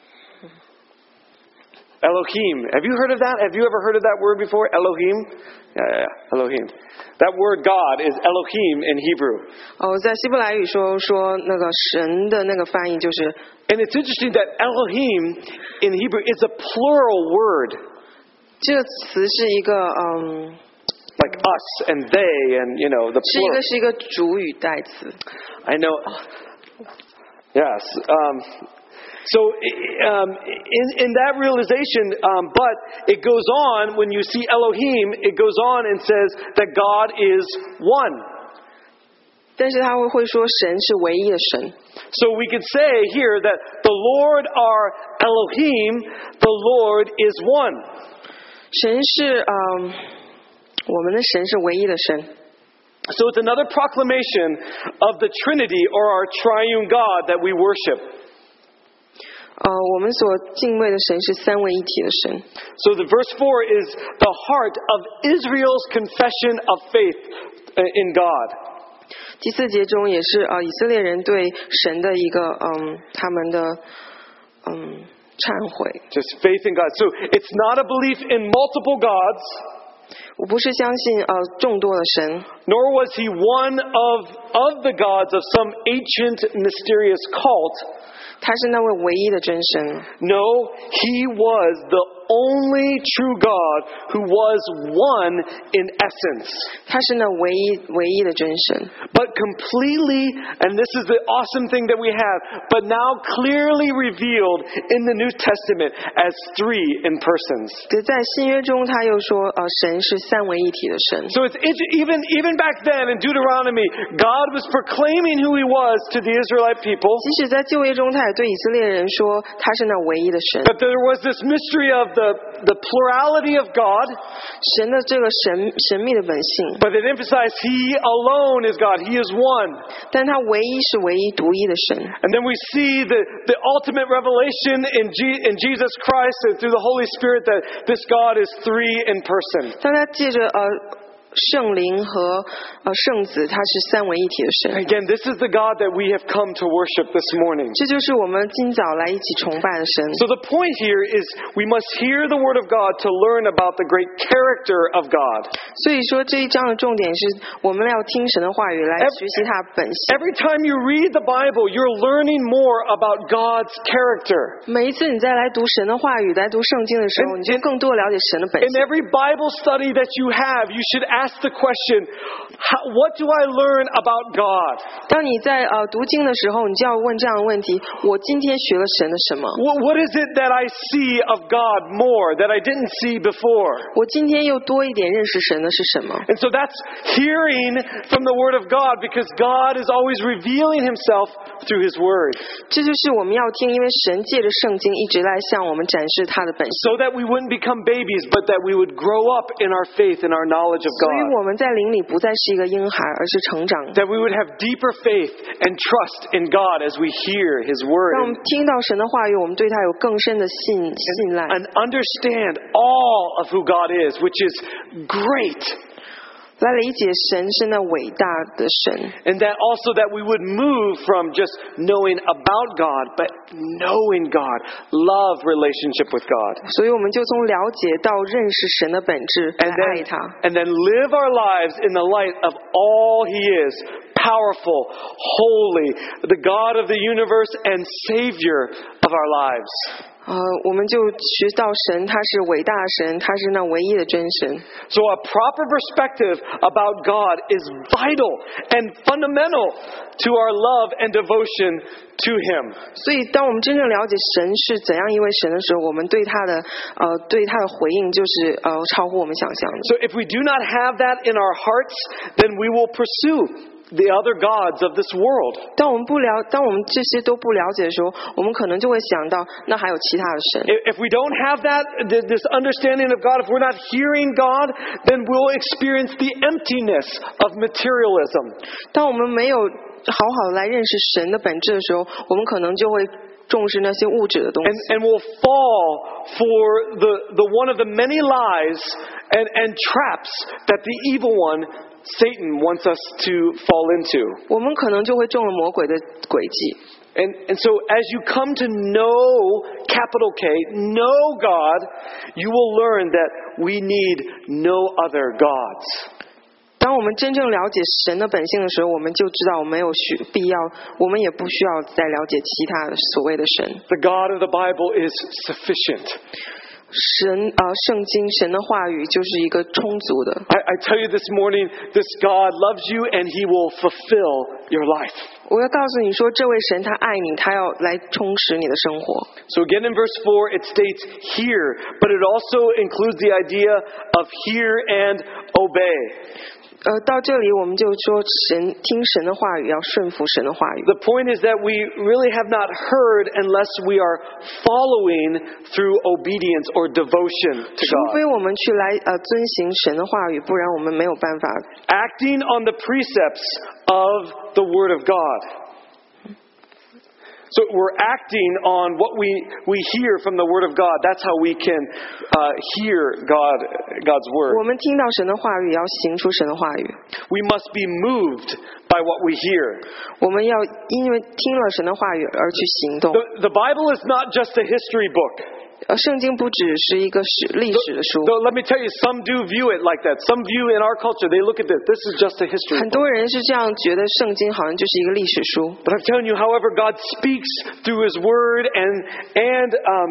Elohim. Have you heard of that? Have you ever heard of that word before? Elohim? Yeah, yeah, yeah. Elohim. That word God is Elohim in Hebrew. 哦，在希伯来语说说那个神的那个翻译就是， And it's interesting that Elohim in Hebrew is a plural word. 这个词是一个嗯， Like us and they and, you know, the 是一 plural. 个是一个主语代词。 I know. Yes. Um, so um, in, in that realization, um, but it goes on, when you see Elohim, it goes on and says that God is one. 但是他会会说神是唯一的神。 So we could say here that the Lord our Elohim, the Lord is one. 神是嗯，我们的神是唯一的神。 So it's another proclamation of the Trinity or our triune God that we worship. 呃，我们所敬畏的神是三位一体的神。 So the verse four is the heart of Israel's confession of faith in God. 第四节中也是呃以色列人对神的一个嗯他们的嗯忏悔。 Just faith in God. So it's not a belief in multiple gods. 我不是相信呃众多的神， Nor was he one of, of the gods of some ancient mysterious cult. 他是那位唯一的真神。 No, he was the only true God who was one in essence. 他是那唯一唯一的真神。 But completely, and this is the awesome thing that we have, but now clearly revealed in the New Testament as three in persons. 在新约中，他又说呃神是三位一体的神。 So it's even, even back then in Deuteronomy, God was proclaiming who he was to the Israelite people. 即使在旧约中，他也对以色列人说他是那唯一的神。 But there was this mystery of the, the plurality of God. 神的这个神神秘的本性， But it emphasized he alone is God. He is one. 但他唯一是唯一独一的神。 And then we see the, the ultimate revelation in, G, in Jesus Christ and through the Holy Spirit that this God is three in person. 当他借着呃圣灵和呃圣子，他是三位一体的神。 Again, this is the God that we have come to worship this morning. 这就是我们今早来一起崇拜的神。 So the point here is we must hear the Word of God to learn about the great character of God. 所以说这一章的重点是我们要听神的话语来学习他的本性。 Every time you read the Bible, you're learning more about God's character. 每一次你再来读神的话语、来读圣经的时候， And- 你就更多了解神的本 In 性。 every Bible study that you have, you should ask the question, how, what do I learn about God? 当你在呃读经的时候，你就要问这样的问题：我今天学了神的什么？ What, what is it that I see of God more that I didn't see before? 我今天又多一点认识神的是什么？ And so that's hearing from the Word of God because God is always revealing Himself through His Word. 这就是我们要听，因为神借着圣经一直来向我们展示他的本性， So that we wouldn't become babies, but that we would grow up in our faith and our knowledge of 所以 God. 我们在灵里不再是一个婴孩，而是成长。 That we would have deeper faith and trust in God as we hear His 让我 Word 们听到神的话语，我们对他有更深的信信赖， and understand all of who God is, which is great. 来理解神是那伟大的神。 And that also that we would move from just knowing about God, but knowing God, love relationship with God. 所以我们就从了解到认识神的本质，来 And 爱 then, 他。 and then live our lives in the light of all He is, powerful, holy, the God of the universe and Savior of our lives. 呃，我们就学到神他是伟大的神，他是那唯一的真神。 So a proper perspective about God is vital and fundamental to our love and devotion to Him. 所以，当我们真正了解神是怎样一位神的时候，我们对他的呃对他的回应就是呃超乎我们想象的。 So if we do not have that in our hearts, then we will pursue the other gods of this world. 当我们不了，当我们这些都不了解的时候，我们可能就会想到，那还有其他的神。 If we don't have that, this understanding of God, if we're not hearing God, then we'll experience the emptiness of materialism. 当我们没有好好的来认识神的本质的时候，我们可能就会重视那些物质的东西。 And, and we'll fall for the, the one of the many lies and, and traps that the evil one, Satan, wants us to fall into. 我们可能就会中了魔鬼的诡计。 And, and so as you come to know, capital K, know God, you will learn that we need no other gods. 当我们真正了解神的本性的时候，我们就知道我们没有需必要，我们也不需要再了解其他的所谓的神。 The God of the Bible is sufficient. 神啊、呃，圣经神的话语就是一个充足的。 I, I tell you this morning, this God loves you and He will fulfill your life. 我要告诉你说，这位神他爱你，他要来充实你的生活。 So again in verse four, it states hear, but it also includes the idea of hear and obey. 呃，到这里我们就说神听神的话语，要顺服神的话语。 The point is that we really have not heard unless we are following through obedience or devotion to 除 God. 非我们去来呃遵行神的话语，不然我们没有办法。 Acting on the precepts of the Word of God. So we're acting on what we, we hear from the Word of God. That's how we can uh, hear God, God's 我 Word. 们听到神的话语，要行出神的话语。 We must be moved by what we hear. 我们要因为听了神的话语而去行动。 The, the Bible is not just a history book. 呃，圣经不只是一个史历史的书。 Though let me tell you, some do view it like that. Some view in our culture, they look at this. This is just a history 很 book. 多人是这样觉得，圣经好像就是一个历史书。 But I'm telling you, however, God speaks through His Word and and um,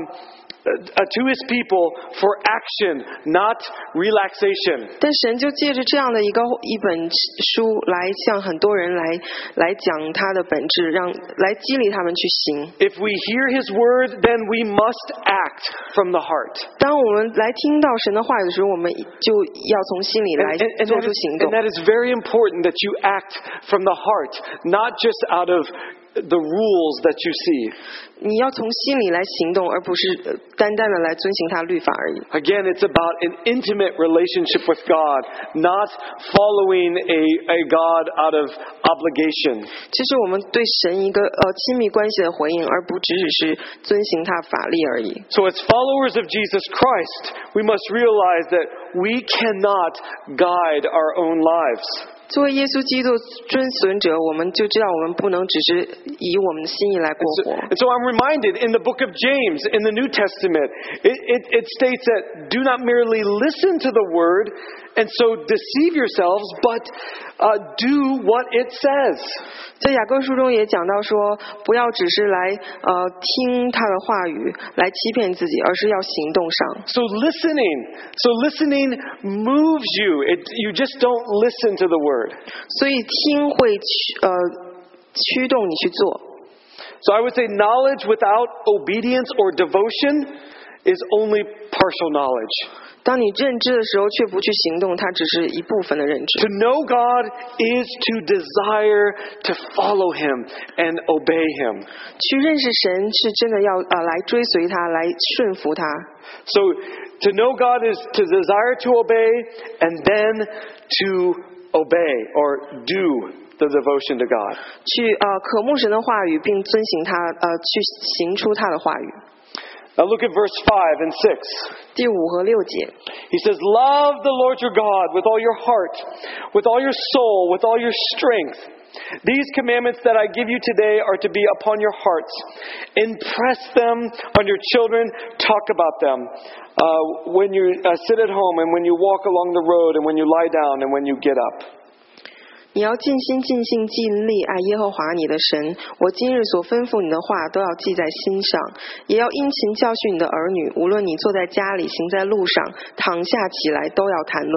uh, to His people for action, not relaxation. 但神就借着这样的一个一本书来向很多人来来讲它的本质，让来激励他们去行。 If we hear His Word, then we must act from the heart. 当我们来听到神的话语的时候，我们就要从心里来 And, and, and, 做 that 出 is, 行 and 动。 that is very important that you act from the heart, not just out of the rules that you see. 你要从心里来行动，而不是呃单单的来遵行他律法而已。 Again, it's about an intimate relationship with God, not following a, a God out of obligation. 这是我们对神一个呃亲密关系的回应，而不只只是遵行他法律而已。 So as followers of Jesus Christ, we must realize that we cannot guide our own lives. 作为耶稣基督遵循者，我们就知道我们不能只是以我们的心意来过 And so, 活。 and so I'm reminded in the book of James, in the New Testament, it, it, it states that do not merely listen to the word and so deceive yourselves, but uh, do what it says. 在雅各书中也讲到说，不要只是来呃听他的话语来欺骗自己，而是要行动上。 So listening, so listening moves you. It, you just don't listen to the word. 所以听会驱呃驱动你去做。 So I would say knowledge without obedience or devotion is only partial knowledge. 当你认知的时候，却不去行动，它只是一部分的认知。 To know God is to desire to follow Him and obey Him. 去认识神是真的要呃来追随他，来顺服他。 So to know God is to desire to obey and then to obey or do the devotion to God. 去呃渴慕神的话语，并遵行他呃去行出他的话语。 Now look at verse five and six. 第五和六节， He says, love the Lord your God with all your heart, with all your soul, with all your strength. These commandments that I give you today are to be upon your hearts. Impress them on your children. Talk about them uh, when you uh, sit at home and when you walk along the road and when you lie down and when you get up. 你要尽心尽性尽力爱耶和华你的神。我今日所吩咐你的话都要记在心上，也要殷勤教训你的儿女。无论你坐在家里，行在路上，躺下起来，都要谈论。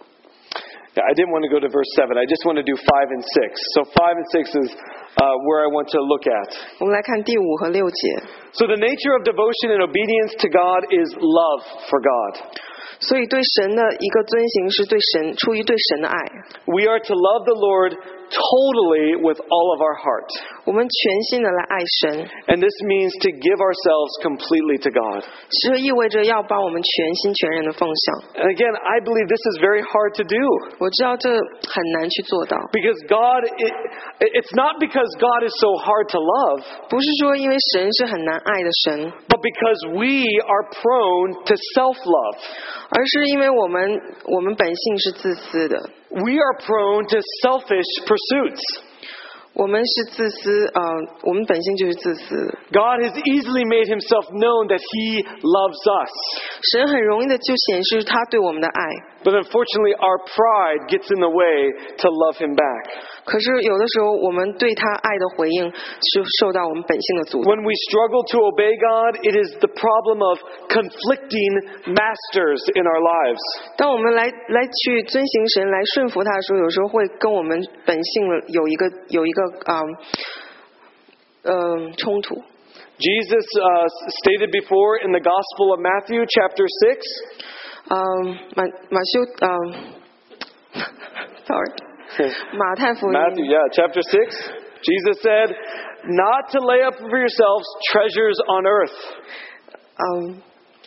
Yeah, I didn't want to go to verse seven. I just want to do five and six. So five and six is uh, where I want to look at. 我们来看第五和六节。 So the nature of devotion and obedience to God is love for God. 所以对神的一个遵行是对神出于对神的爱。 We are to love the Lord totally with all of our heart. 我们全心的来爱神， And this means to give ourselves completely to God. 这意味着要把我们全心全人的奉献。 And again, I believe this is very hard to do. 我知道这很难去做到， Because God, it, it's not because God is so hard to love, 不是说因为神是很难爱的神， but because we are prone to self-love. 而是因为我们我们本性是自私的， We are prone to selfish pursuits. 我们是自私，呃，我们本性就是自私的。 God has easily made himself known that he loves us. 神很容易的就显示他对我们的爱， But unfortunately, our pride gets in the way to love him back. 可是有的时候我们对他爱的回应是受到我们本性的阻挡。 When we struggle to obey God, it is the problem of conflicting masters in our lives. 当我们来来去遵行神来顺服他的时候，有时候会跟我们本性有一个有一个啊嗯、呃、冲突。 Jesus uh, stated before in the Gospel of Matthew, chapter six, 嗯，马马修嗯 ，sorry，马太福音 Matthew, yeah, chapter six, Jesus said, not to lay up for yourselves treasures on earth, 嗯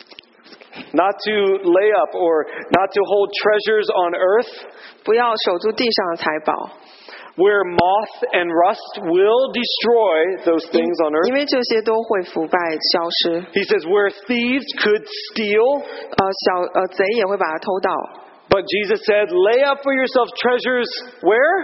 not to lay up or not to hold treasures on earth, 不要守住地上的财宝， where moth and rust will destroy those things on 因 earth. 为这些都会腐败消失。 He says, where thieves could steal. 呃，小呃贼也会把它偷到。 But Jesus said, lay up for yourselves treasures where?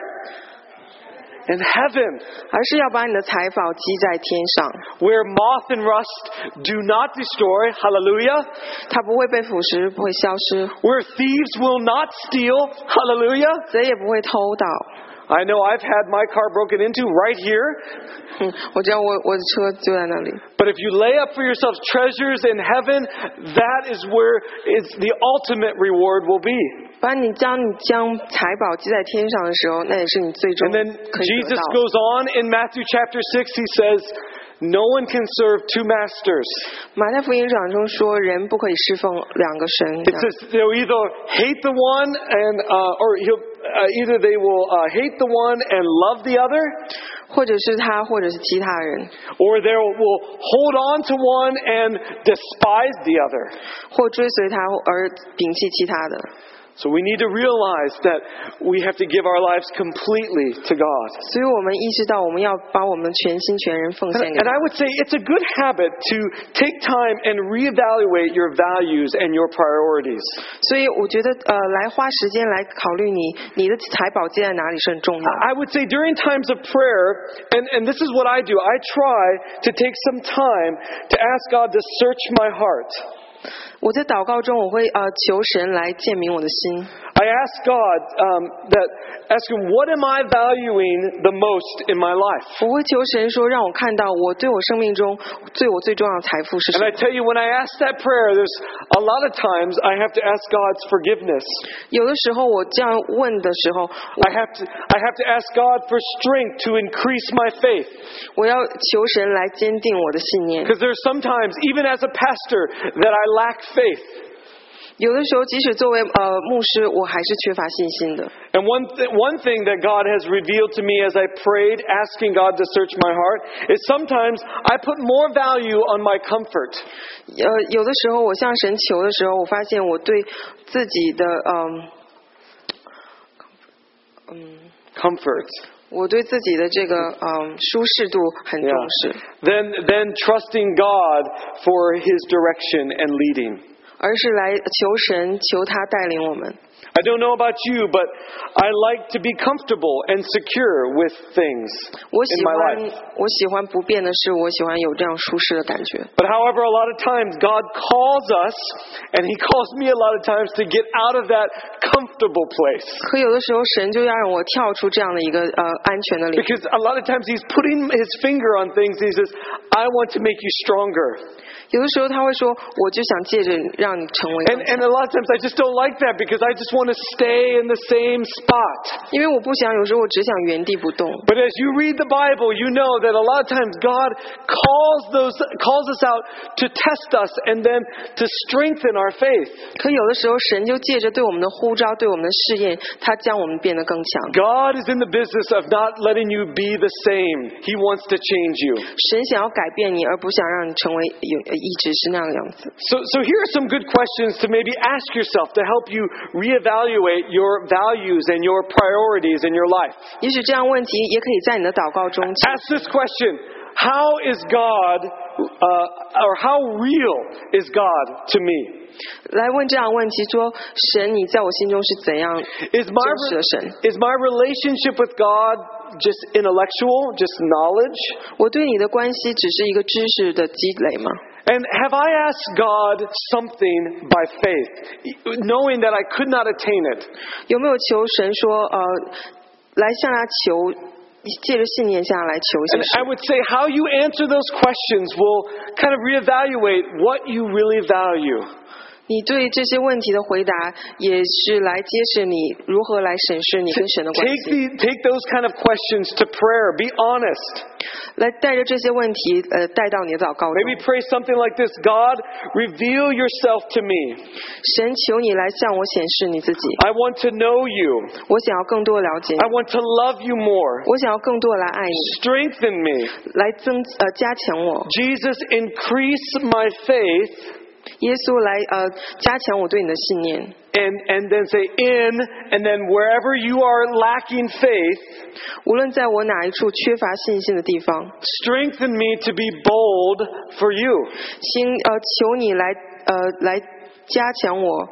In heaven, 而是要把你的财宝积在天上， where moth and rust do not destroy. Hallelujah. 它不会被腐蚀，不会消失， Where thieves will not steal. Hallelujah. 贼也不会偷盗。 I know I've had my car broken into right here. 嗯，我知道我我的车就在那里。 But if you lay up for yourselves treasures in heaven, that is where it's the ultimate reward will be. 把你将你将财宝积在天上的时候，那也是你最终 And then 可以得 Jesus 到。 goes on in Matthew chapter six, he says, no one can serve two masters. 马太福音讲中说，人不可以侍奉两个神。 It says they'll either hate the one and, uh, or he'll, uh, either they will uh, hate the one and love the other, 或者是他，或者是其他人， or they will hold on to one and despise the other. 或追随他而摒弃其他的。 So we need to realize that we have to give our lives completely to God. 所以我们意识到，我们要把我们全心全人奉 And, 献给 and 他 I。would say it's a good habit to take time and reevaluate your values and your priorities. 所以我觉得，呃，来花时间来考虑你你的财宝积在哪里是很重要的。 I would say during times of prayer, and, and this is what I do, I try to take some time to ask God to search my heart. 我在祷告中，我会呃求神来鉴明我的心。 I ask God um, that, ask Him, what am I valuing the most in my life? 我会求神说，让我看到我对我生命中对我最重要的财富是什 And 么 I。tell you, when I ask that prayer, there's a lot of times I have to ask God's forgiveness. 有的时候我这样问的时候， I have to, I have to ask God for strength to increase my faith. 我要求神来坚定我的信念。 Because there's sometimes, even as a pastor, that I lack faith. 有的时候，即使作为呃牧师，我还是缺乏信心的。 And one, th- one thing that God has revealed to me as I prayed, asking God to search my heart, is sometimes I put more value on my comfort. 呃，有的时候我向神求的时候，我发现我对自己的嗯嗯 Comfort. 我对自己的这个嗯舒适度很重 Yeah. 视， Then, then trusting God for His direction and leading. 而是来求神，求他带领我们。 I don't know about you, but I like to be comfortable and secure with things 我 in 喜 my 欢 life. 我喜欢不变的事，我喜欢有这样舒适的感觉。 But however, a lot of times God calls us, and He calls me a lot of times to get out of that comfortable place. 可有的时候，神就要让我跳出这样的一个呃安全的领域。 Because a lot of times He's putting His finger on things, and He says, I want to make you stronger. 有的时候他会说，我就想借着让你成为 And, 更强。 and a lot of times I just don't like that because I just just want to stay in the same spot. 因为我不想有时候我只想原地不动。 But as you read the Bible, you know that a lot of times God calls those calls us out to test us and then to strengthen our faith. 可有的时候神就借着对我们的呼召，对我们的试验，他将我们变得更强。 God is in the business of not letting you be the same. He wants to change you. 神想要改变你，而不想让你成为有一直是那样的样子。 So, so here are some good questions to maybe ask yourself to help you reevaluate your values and your priorities in your life. 也许这样问题也可以在你的祷告中。 Ask this question: How is God, uh, or how real is God to me? 来问这样的问题，说神，你在我心中是怎样 Is 真 my 实的神？ is my relationship with God just intellectual, just knowledge? 我对你的关系只是一个知识的积累吗？ And have I asked God something by faith, knowing that I could not attain it? 有没有求神说，呃，来向他求，借着信念向他来求一些 And 事？ I would say how you answer those questions will kind of reevaluate what you really value. 你对这些问题的回答，也是来揭示你如何来审视你跟神的关 Take 系。 the, take those kind of questions to prayer. Be honest. 来带着这些问题，呃，带到你的祷告中。 Maybe pray something like this: God, reveal yourself to me. 神，求你来向我显示你自己。 I want to know you. 我想要更多了解你 I，want to love you more. 我想要更多来爱你， Strengthen me. 来增呃加强我。 Jesus, increase my faith. 耶稣来呃加强我对你的信念。 And, and then say in, and then wherever you are lacking faith, 无论在我哪一处缺乏信心的地方， strengthen me to be bold for you. 请呃求你来呃来加强我。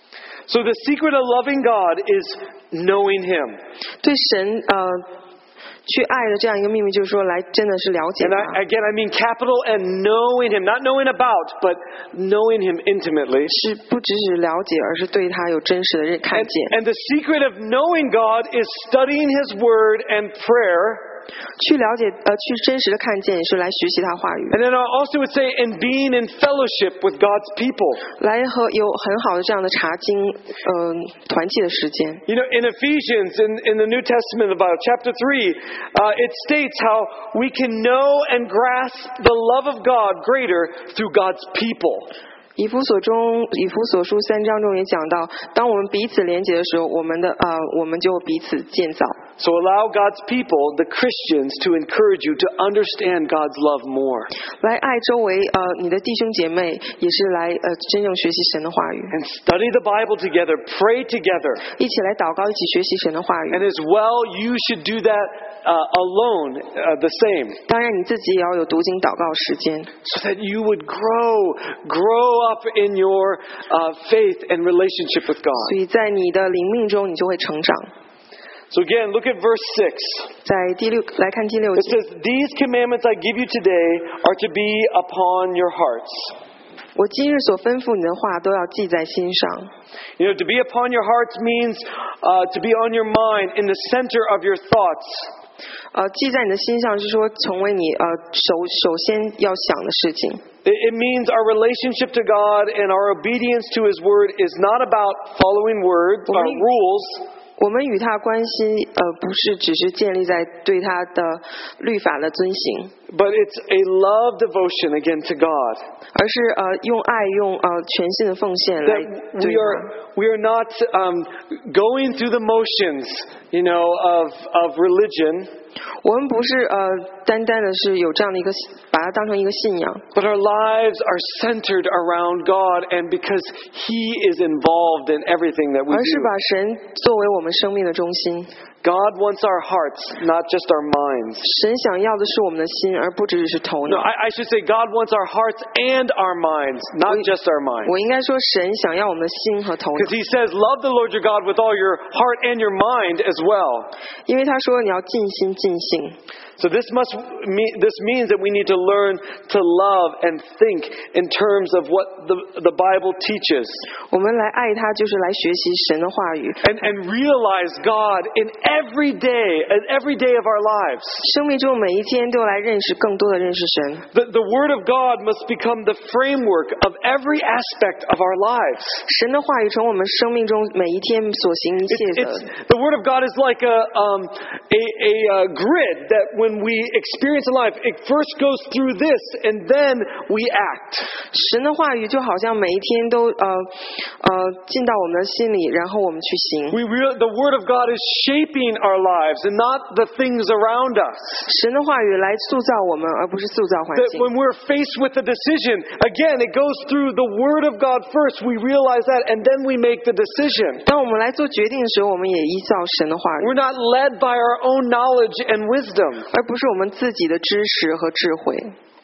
So the secret of loving God is knowing Him. 对神呃去爱的这样一个秘密，就是说来真的是了解 And 他。 I, again, I mean capital and knowing Him. Not knowing about, but knowing Him intimately. 是不只是了解，而是对他有真实的认看 And, 见。 and the secret of knowing God is studying His Word and prayer. 去了解呃去真实的看见，也是来学习他话语， And then I also would say, and being in fellowship with God's people. 来和有很好的这样的查经呃团契的时间。 You know, in Ephesians, in, in the New Testament, about chapter three, uh, it states how we can know and grasp the love of God greater through God's people. 以弗所中，以弗所书三章中也讲到，当我们彼此连结的时候，我们的呃，我们就彼此建造。 So allow God's people, the Christians, to encourage you to understand God's love more. 来爱周围呃你的弟兄姐妹，也是来呃真正学习神的话语， And study the Bible together, pray together. 一起来祷告，一起学习神的话语。 And as well, you should do that uh, alone, uh, the same. 当然，你自己也要有读经祷告时间， So that you would grow, grow up in your uh, faith and relationship with God. 所以在你的灵命中，你就会成长。 So again, look at verse six. 在第六来看第六 It 节， says, These commandments I give you today are to be upon your hearts. 我今日所吩咐你的话都要记在心上。 You know, to be upon your hearts means uh, to be on your mind, in the center of your thoughts. 呃，记在你的心上是说成为你呃首首先要想的事情。 It, it means our relationship to God and our obedience to His Word is not about following words or Right. rules. 我们与他关系，呃，不是只是建立在对他的律法的遵行， But it's a love devotion again to God. 而是呃用爱用呃全心的奉献来 That 对 we are 他。 we are not um, going through the motions, you know, of of religion, 我们不是呃单单的是有这样的一个把它当成一个信仰， but our lives are centered around God, and because He is involved in everything that we 而是 do. 把神作为我们生命的中心。 God wants our hearts, not just our minds. 神想要的是我们的心，而不只是头 No, 脑。 I, I should say God wants our hearts and our minds, not just our minds. 我应该说，神想要我们的心和头脑 Because，He says, love the Lord your God with all your heart and your mind as well. 因为他说你要尽心尽性。 So this must mean, this means that we need to learn to love and think in terms of what the, the Bible teaches. 我们来爱他，就是来学习神的话语， And, and realize God in every day, every day of our lives. 生命中每一天都来认识更多的认识神。 The, the Word of God must become the framework of every aspect of our lives. 神的话语从我们生命中每一天所行一切 It's, 的。 it's, the Word of God is like a, um, a, a, uh grid that when we experience in life, it first goes through this and then we act. 神的话语就好像每一天都呃呃进到我们的心里，然后我们去行。 We real, the Word of God is shaping our lives and not the things around us. 神的话语来塑造我们，而不是塑造环 That 境。 when we're faced with a decision, again, it goes through the Word of God first. We realize that and then we make the decision. 当我们来做决定的时候，我们也依照神的话语， We're not led by our own knowledge and wisdom. 而不是我们自己的知识和智慧。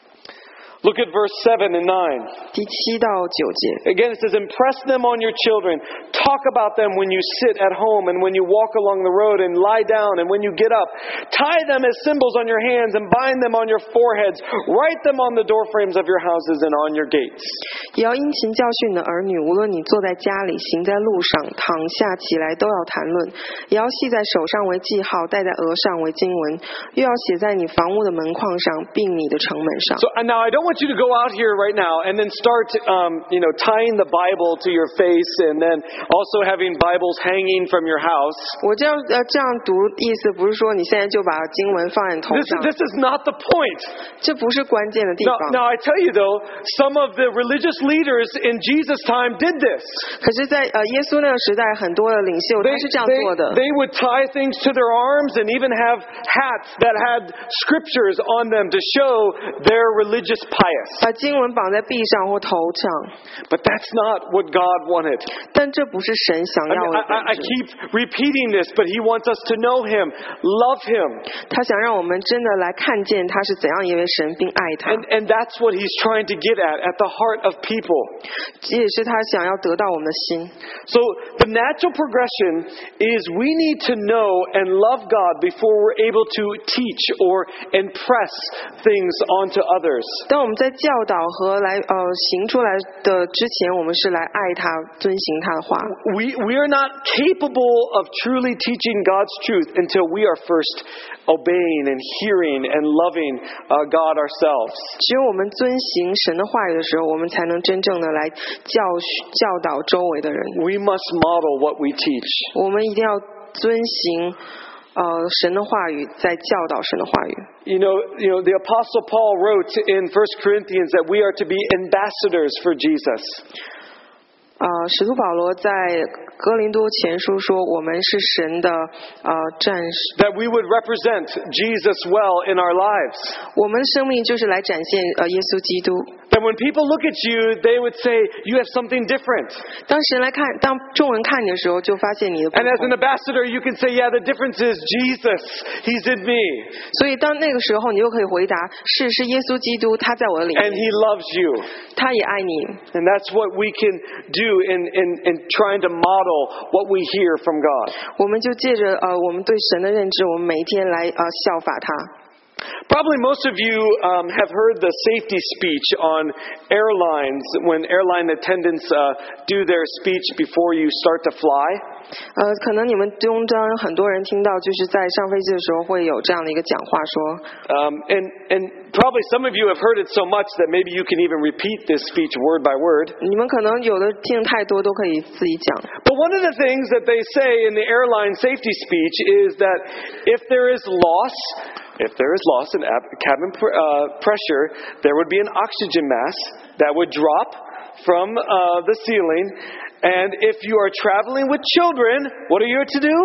Look at verse seven and nine. 第七到九节， Again, it says, impress them on your children. Talk about them when you sit at home and when you walk along the road and lie down and when you get up. Tie them as symbols on your hands and bind them on your foreheads. Write them on the doorframes of your houses and on your gates. 也要殷勤教训你的儿女，无论你坐在家里、行在路上、躺下起来，都要谈论。也要系在手上为记号，戴在额上为经文，又要写在你房屋的门框上，并你的城门上。 So and now I don't want you to go out here right now and then start, um, you know, tying the Bible to your face and then also having Bibles hanging from your house. 我这样呃这样读，意思不是说你现在就把经文放在你头 This, 上， this is not the point. 这不是关键的地 Now, 方。 now I tell you though, some of the religious leaders in Jesus' time did this. 可是在，呃耶稣那个时代，很多的领袖 They, 他是这样 they, 做的。 they would tie things to their arms and even have hats that had scriptures on them to show their religious pious. 把经文绑在臂上或头上， But that's not what God wanted. 但这不是神想 I, 要 mean, 的 I, I 本 I 质。 keep repeating this, but He wants us to know Him, love Him. 他想让我们真的来看见他是怎样一位神，并爱他。 And, and that's what He's trying to get at, at the heart of people. 这也是他想要得到我们的心。 So the natural progression is we need to know and love God before we're able to teach or impress things onto others. 当我们在教导和来呃行出来的之前，我们是来爱他、遵行他的话。 We, we are not capable of truly teaching God's truth until we are first obeying and hearing and loving uh, God ourselves. 只有我们遵行神的话语的时候，我们才能真正的来教教导周围的人。 We must model what we teach. 我们一定要遵行呃神的话语，在教导神的话语。 You know, you know, the Apostle Paul wrote in First Corinthians that we are to be ambassadors for Jesus. 呃，使徒保罗在哥林多前书说，我们是神的呃战士， That we would represent Jesus well in our lives. 我们的生命就是来展现呃耶稣基督。 That when people look at you, they would say, you have something different. 当神来看，当众人看你的时候，就发现你的不 And as an 同。 ambassador, you can say, yeah, the difference is Jesus. He's in me. 所以当那个时候，你就可以回答：是，是耶稣基督，他在我的里 And 面， He loves you. 他也爱你。 And that's what we can do in, in, in trying to model what we hear from God. 我们就借着呃我们对神的认知，我们每一天来呃效法他。 Probably most of you um, have heard the safety speech on airlines when airline attendants uh, do their speech before you start to fly. 呃，可能你们中间很多人听到，就是在上飞机的时候会有这样的一个讲话说， Um, and, and probably some of you have heard it so much that maybe you can even repeat this speech word by word. 你们可能有的听太多都可以自己讲。 But one of the things that they say in the airline safety speech is that if there is loss, if there is loss in ab- cabin pr- uh, pressure, there would be an oxygen mask that would drop from uh, the ceiling. And if you are traveling with children, what are you to do?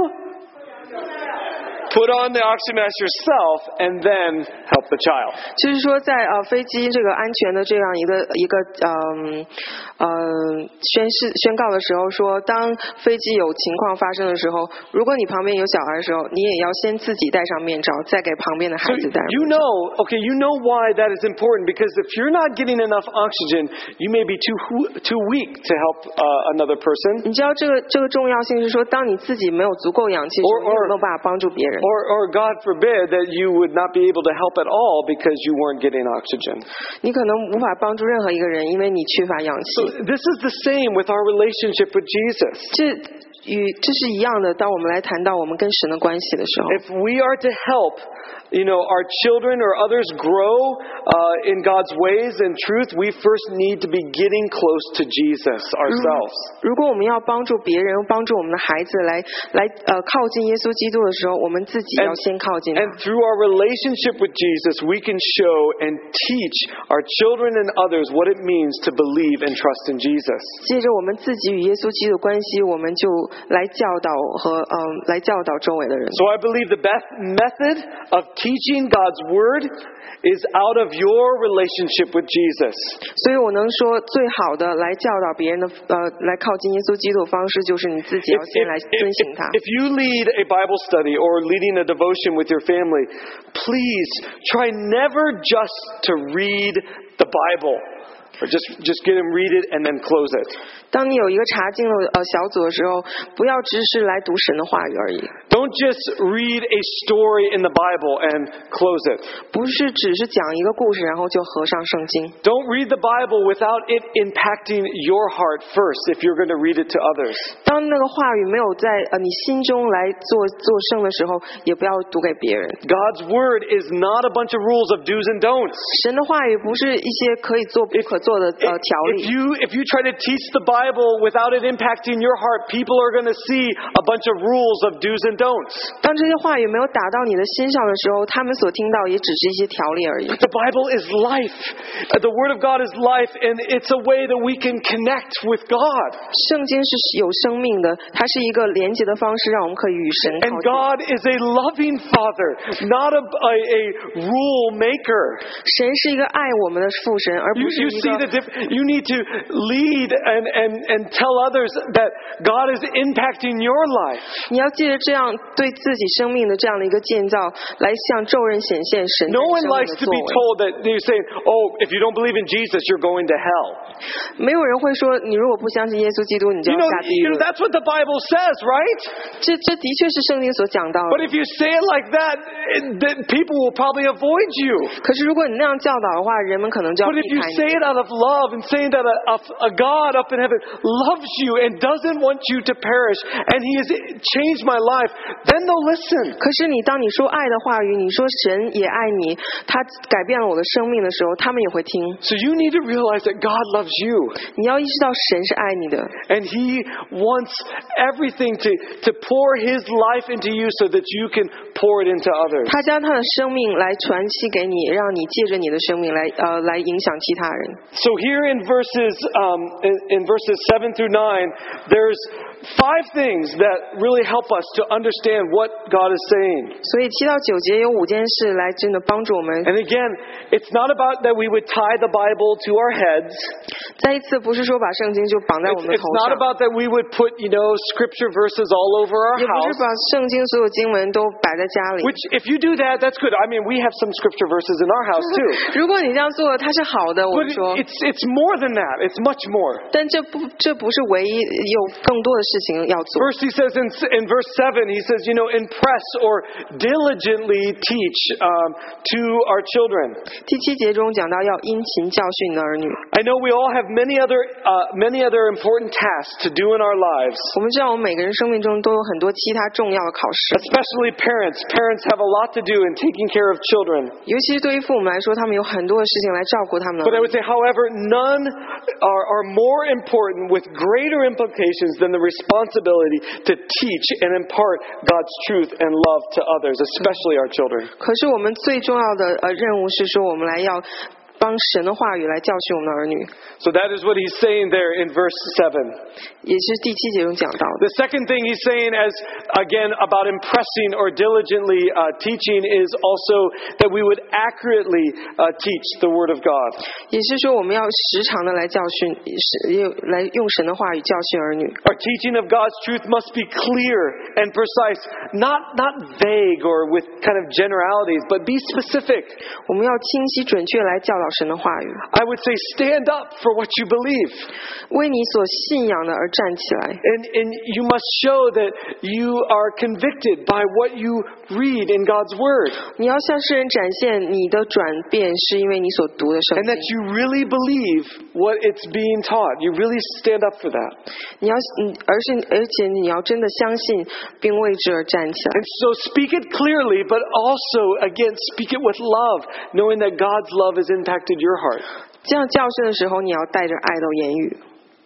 Put on the oxygen mask yourself and then help the child. 就是说在，呃飞机这个安全的这样一个一个嗯呃宣誓宣告的时候说，当飞机有情况发生的时候，如果你旁边有小孩的时候，你也要先自己戴上面罩，再给旁边的孩 So 子戴。 you know, okay, you know why that is important because if you're not getting enough oxygen, you may be too too weak to help uh, another person. 你知道这个这个重要性是说，当你自己没有足够氧气的时 Or- 候，你 or- 有没有办法帮助别人？ Or, or God forbid that you would not be able to help at all because you weren't getting oxygen. 你可能无法帮助任何一个人，因为你缺乏氧 So 气。 this is the same with our relationship with Jesus. 这与这是一样的。当我们来谈到我们跟神的关系的时候， If we are to help, you know, our children or others grow uh, in God's ways and truth, we first need to be getting close to Jesus ourselves. 如果我们要帮助别人，帮助我们的孩子来来呃靠近耶稣基督的时候，我们自己要先靠近他。 And through our relationship with Jesus, we can show and teach our children and others what it means to believe and trust in Jesus. 借着我们自己与耶稣基督的关系，我们就来教导和嗯、呃、来教导周围的人。 So I believe the best method of teaching God's Word is out of your relationship with Jesus. 所以我能说，最好的来教导别人的呃来靠近耶稣基督的方式，就是你自己要先来遵行他。 If you lead a Bible study or leading a devotion with your family, please try never just to read the Bible. Or just, just get them, read it, and then close it. 当你有一个查经的呃小组的时候，不要只是来读神的话语而已。 Don't just read a story in the Bible and close it. 不是只是讲一个故事，然后就合上圣经。 Don't read the Bible without it impacting your heart first if you're going to read it to others. 当那个话语没有在呃你心中来做做圣的时候，也不要读给别人。 God's Word is not a bunch of rules of do's and don'ts. 神的话语不是一些可以做不可做的呃条 If 例。 you, if you try to teach the Bible without it impacting your heart, people are going to see a bunch of rules of do's and don'ts. 当这些话语没有打到你的心上的时候，他们所听到也只是一些条例而已。 The Bible is life. Uh, The Word of God is life, and it's a way that we can connect with God. 圣经是有生命的，它是一个连接的方式，让我们可以与神 And 靠近。 God is a loving Father, not a, a, a rule maker. 神是一个爱我们的父神，而 You, 不是 you 一 see 个 the diff- you need to lead and, and, and tell others that God is impacting your life. 你要借着这样对自己生命的这样的一个建造，来向众人显现神在 No 你 one 生命 likes 的 to 作 be 为。 told that they're saying, oh, if you don't believe in Jesus, you're going to hell. 没有人会说，你如果不相信耶稣基督，你就 You 要 know, 下地 you 狱 know。that's what the Bible says, right? 这这的确是圣经所讲到 But 的。 if you say it like that, it- then people will probably avoid you. 可是如果你那样教导的话，人们可能就要 But 避 if you 开 say 你。 it out of love and saying that a, a, a God up in heaven loves you and doesn't want you to perish and He has changed my life, then they'll listen. 可是你当你说爱的话语，你说神也爱你，他改变了我的生命的时候，他们也会听。 So you need to realize that God loves you 你要意识到神是爱你的， and He wants everything to, to pour His life into you so that you can pour it into others. 他将他的生命来传递给你，让你借着你的生命来呃来影响其他人。 So here in verses um, in, in verses seven through nine, there's five things that really help us to understand what God is saying. 所以七到九节有五件事来真的帮助我们。 And again, it's not about that we would tie the Bible to our heads. 再一次，不是说把圣经就绑在我 It's, 们的 it's 头 not 上， about that we would put, you know, scripture verses all over our 也不是 house. 把圣经所有经文都摆在家里。 Which, if you do that, that's good. I mean, we have some scripture verses in our house too. 如果你这样做，它是好的，我 But 们说 it- it's it's more than that. It's much more. 但这不这不是唯一，有更多的事情要做。 First, he says in, in verse seven, he says, you know, impress or diligently teach um, to our children. 第七节中讲到要殷勤教训你的儿女。 I know we all have many other uh, many other important tasks to do in our lives. 我们知道，我们每个人生命中都有很多其他重要的考试， Especially parents. Parents have a lot to do in taking care of children. 尤其是对于父母来说，他们有很多的事情来照顾他们的 But I 儿女。 would say, however, none are, are more important with greater implications than the responsibility to teach and impart God's truth and love to others, especially our children. 可是我们最重要的呃任务是说，我们来要帮神的话语来教训我们的儿女， So that is what he's saying there in verse seven. 也是第七节中讲到的。 The second thing he's saying, as again about impressing or diligently uh, teaching, is also that we would accurately uh, teach the Word of God. 也是说，我们要时常的来教训，是来用神的话语教训儿女。 Our teaching of God's truth must be clear and precise, not not vague or with kind of generalities, but be specific. 我们要清晰准确来教导神的话语， I would say stand up for what you believe. 为你所信仰的而站起来。 And, and you must show that you are convicted by what you read in God's Word. 你要向世人展现你的转变是因为你所读的圣 And that 经。 you really believe what it's being taught. You really stand up for that. 你要，嗯，而是而且你要真的相信，并为之而站起来。 And so speak it clearly, but also, again, speak it with love, knowing that God's love has impacted your heart. 这样教训的时候，你要带着爱的言语。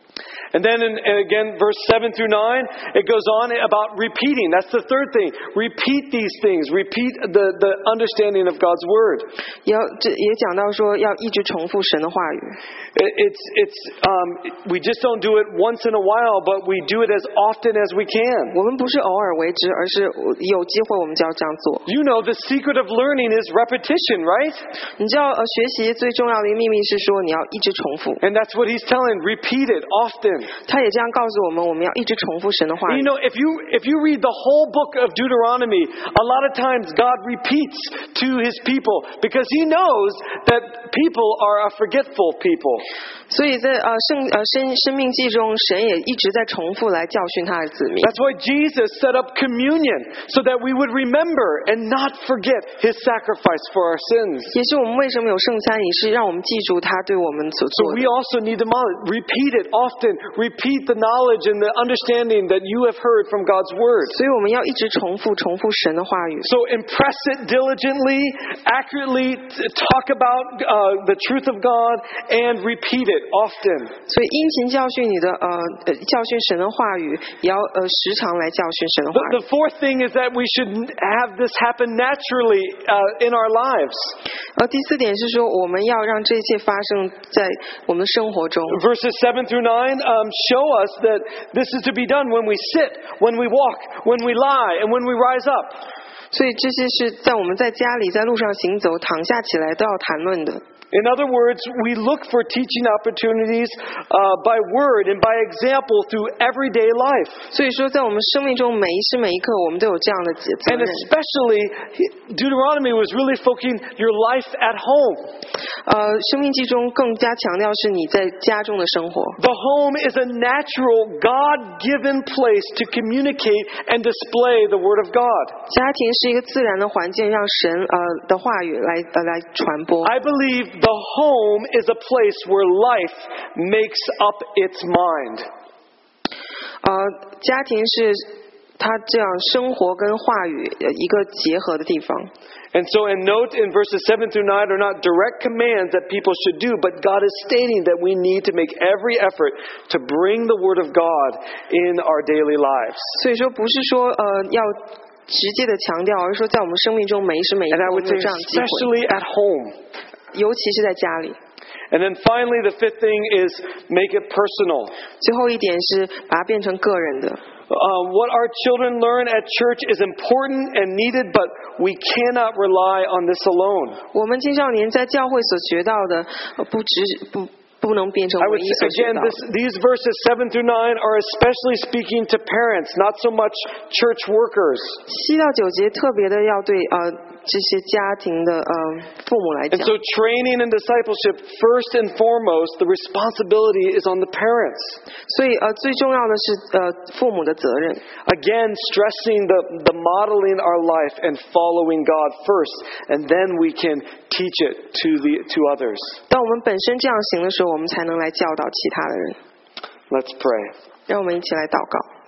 And then in, and again, verse seven through nine, it goes on about repeating. That's the third thing. Repeat these things. Repeat the, the understanding of God's Word. 也要这也讲到说，要一直重复神的话语。 It, it's, it's, um, we just don't do it once in a while, but we do it as often as we can. 我们不是偶尔为之，而是有机会我们就要这样做。 You know, the secret of learning is repetition, right? 你知道，呃，学习最重要的一个秘密是说，你要一直重复。 And that's what he's telling. Repeat it often. 他也这样告诉我们，我们要一直重复神的话 You 语。 know, if you if you read the whole book of Deuteronomy, a lot of times God repeats to his people because he knows that people are a forgetful people. 所以在呃圣呃生生命记中，神也一直在重复来教训他的子民。 That's why Jesus set up communion so that we would remember and not forget his sacrifice for our sins. 也是我们为什么有圣餐仪式，让我们记住他对我们所 So 做 we 的。 also need to repeat it often. Repeat the knowledge and the understanding that you have heard from God's word. 所以我们要一直重复重复神的话语。 So impress it diligently, accurately, talk about uh, the truth of God, and repeat it often. 所以殷勤教训你的呃呃教训神的话语，也要呃时常来教训神的话 The, 语 the。fourth thing is that we should have this happen naturally uh, in our lives. 而第四点是说，我们要让这一切发生在我们的生活中。 Verses seven through nine um, show us that this is to be done when we sit, when we walk, when we lie, and when we rise up. 所以这些是在我们在家里、在路上行走、躺下起来都要谈论的。 In other words, we look for teaching opportunities uh, by word and by example through everyday life. 所以说，在我们生命中每一时每一刻，我们都有这样的责 And 任。 especially, Deuteronomy was really focusing your life at home. 呃，生命记中更加强调是你在家中的生活。 The home is a natural, God-given place to communicate and display the Word of God. 家庭是一个自然的环境，让神呃的话语来呃来传播。 I believe the home is a place where life makes up its mind. 呃，家庭是他这样生活跟话语呃一个结合的地方。 And so, and note in verses seven through nine are not direct commands that people should do, but God is stating that we need to make every effort to bring the Word of God in our daily lives. 所以说，不是说呃要直接的强调，而是说在我们生命中每一时每一 And 刻 I 我 would 们有 say 这样的机会， especially at home. 尤其是在家里。 And then finally, the fifth thing is make it personal. 最后一点是把它变成个人的。 Uh, what our children learn at church is important and needed, but we cannot rely on this alone. 我们青少年在教会所学到的，呃不只不不能变成 I 唯 would 一所 say, 学 again, 到 this, 的。 these verses seven through nine are especially speaking to parents, not so much church workers. 七到九节特别的要对呃这些家庭的呃父母来 And 讲。 so training and discipleship, first and foremost, the responsibility is on the parents. 所以呃最重要的是呃父母的责任。 Again, stressing the, the modeling our life and following God first, and then we can teach it to the to others. 当我们本身这样行的时候，我们才能来教导其他的人。 Let's pray. 让我们一起来祷告。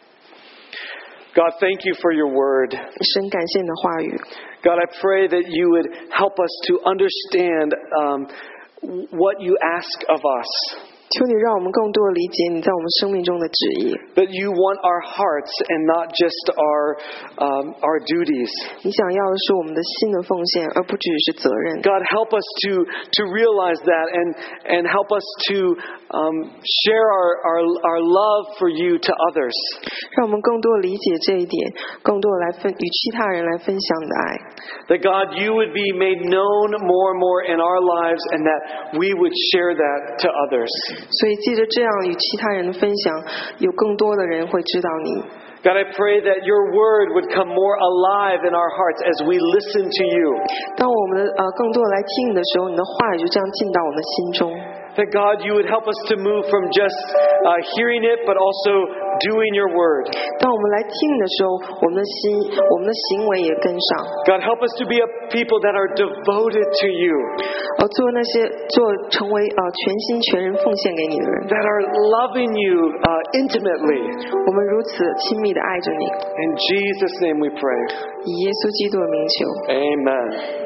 God, thank you for your word. 神感谢你的话语。 God, I pray that you would help us to understand um, what you ask of us. 求你让我们更多的理解你在我们生命中的旨意。 That you want our hearts and not just our um, our duties. 你想要的是我们的心的奉献，而不只是责任。 God, help us to to realize that and and help us to um, share our, our our love for you to others. 让我们更多的理解这一点，更多的来分与其他人来分享你的爱。 That God, you would be made known more and more in our lives, and that we would share that to others. 所以借着这样与其他人的分享，有更多的人会知道你。 God, I pray that your word would come more alive in our hearts as we listen to you. 当我们的呃更多的来听你的时候，你的话语就这样进到我们的心中。 That God, you would help us to move from just uh, hearing it, but also doing your word. 当我们来听的时候，我们的心、我们的行为也跟上。 God, help us to be a people that are devoted to you. 而做那些做成为呃全心全人奉献给你的人。 That are loving you uh, intimately. 我们如此亲密的爱着你。 In Jesus' name we pray. 以耶稣基督的名求。 Amen.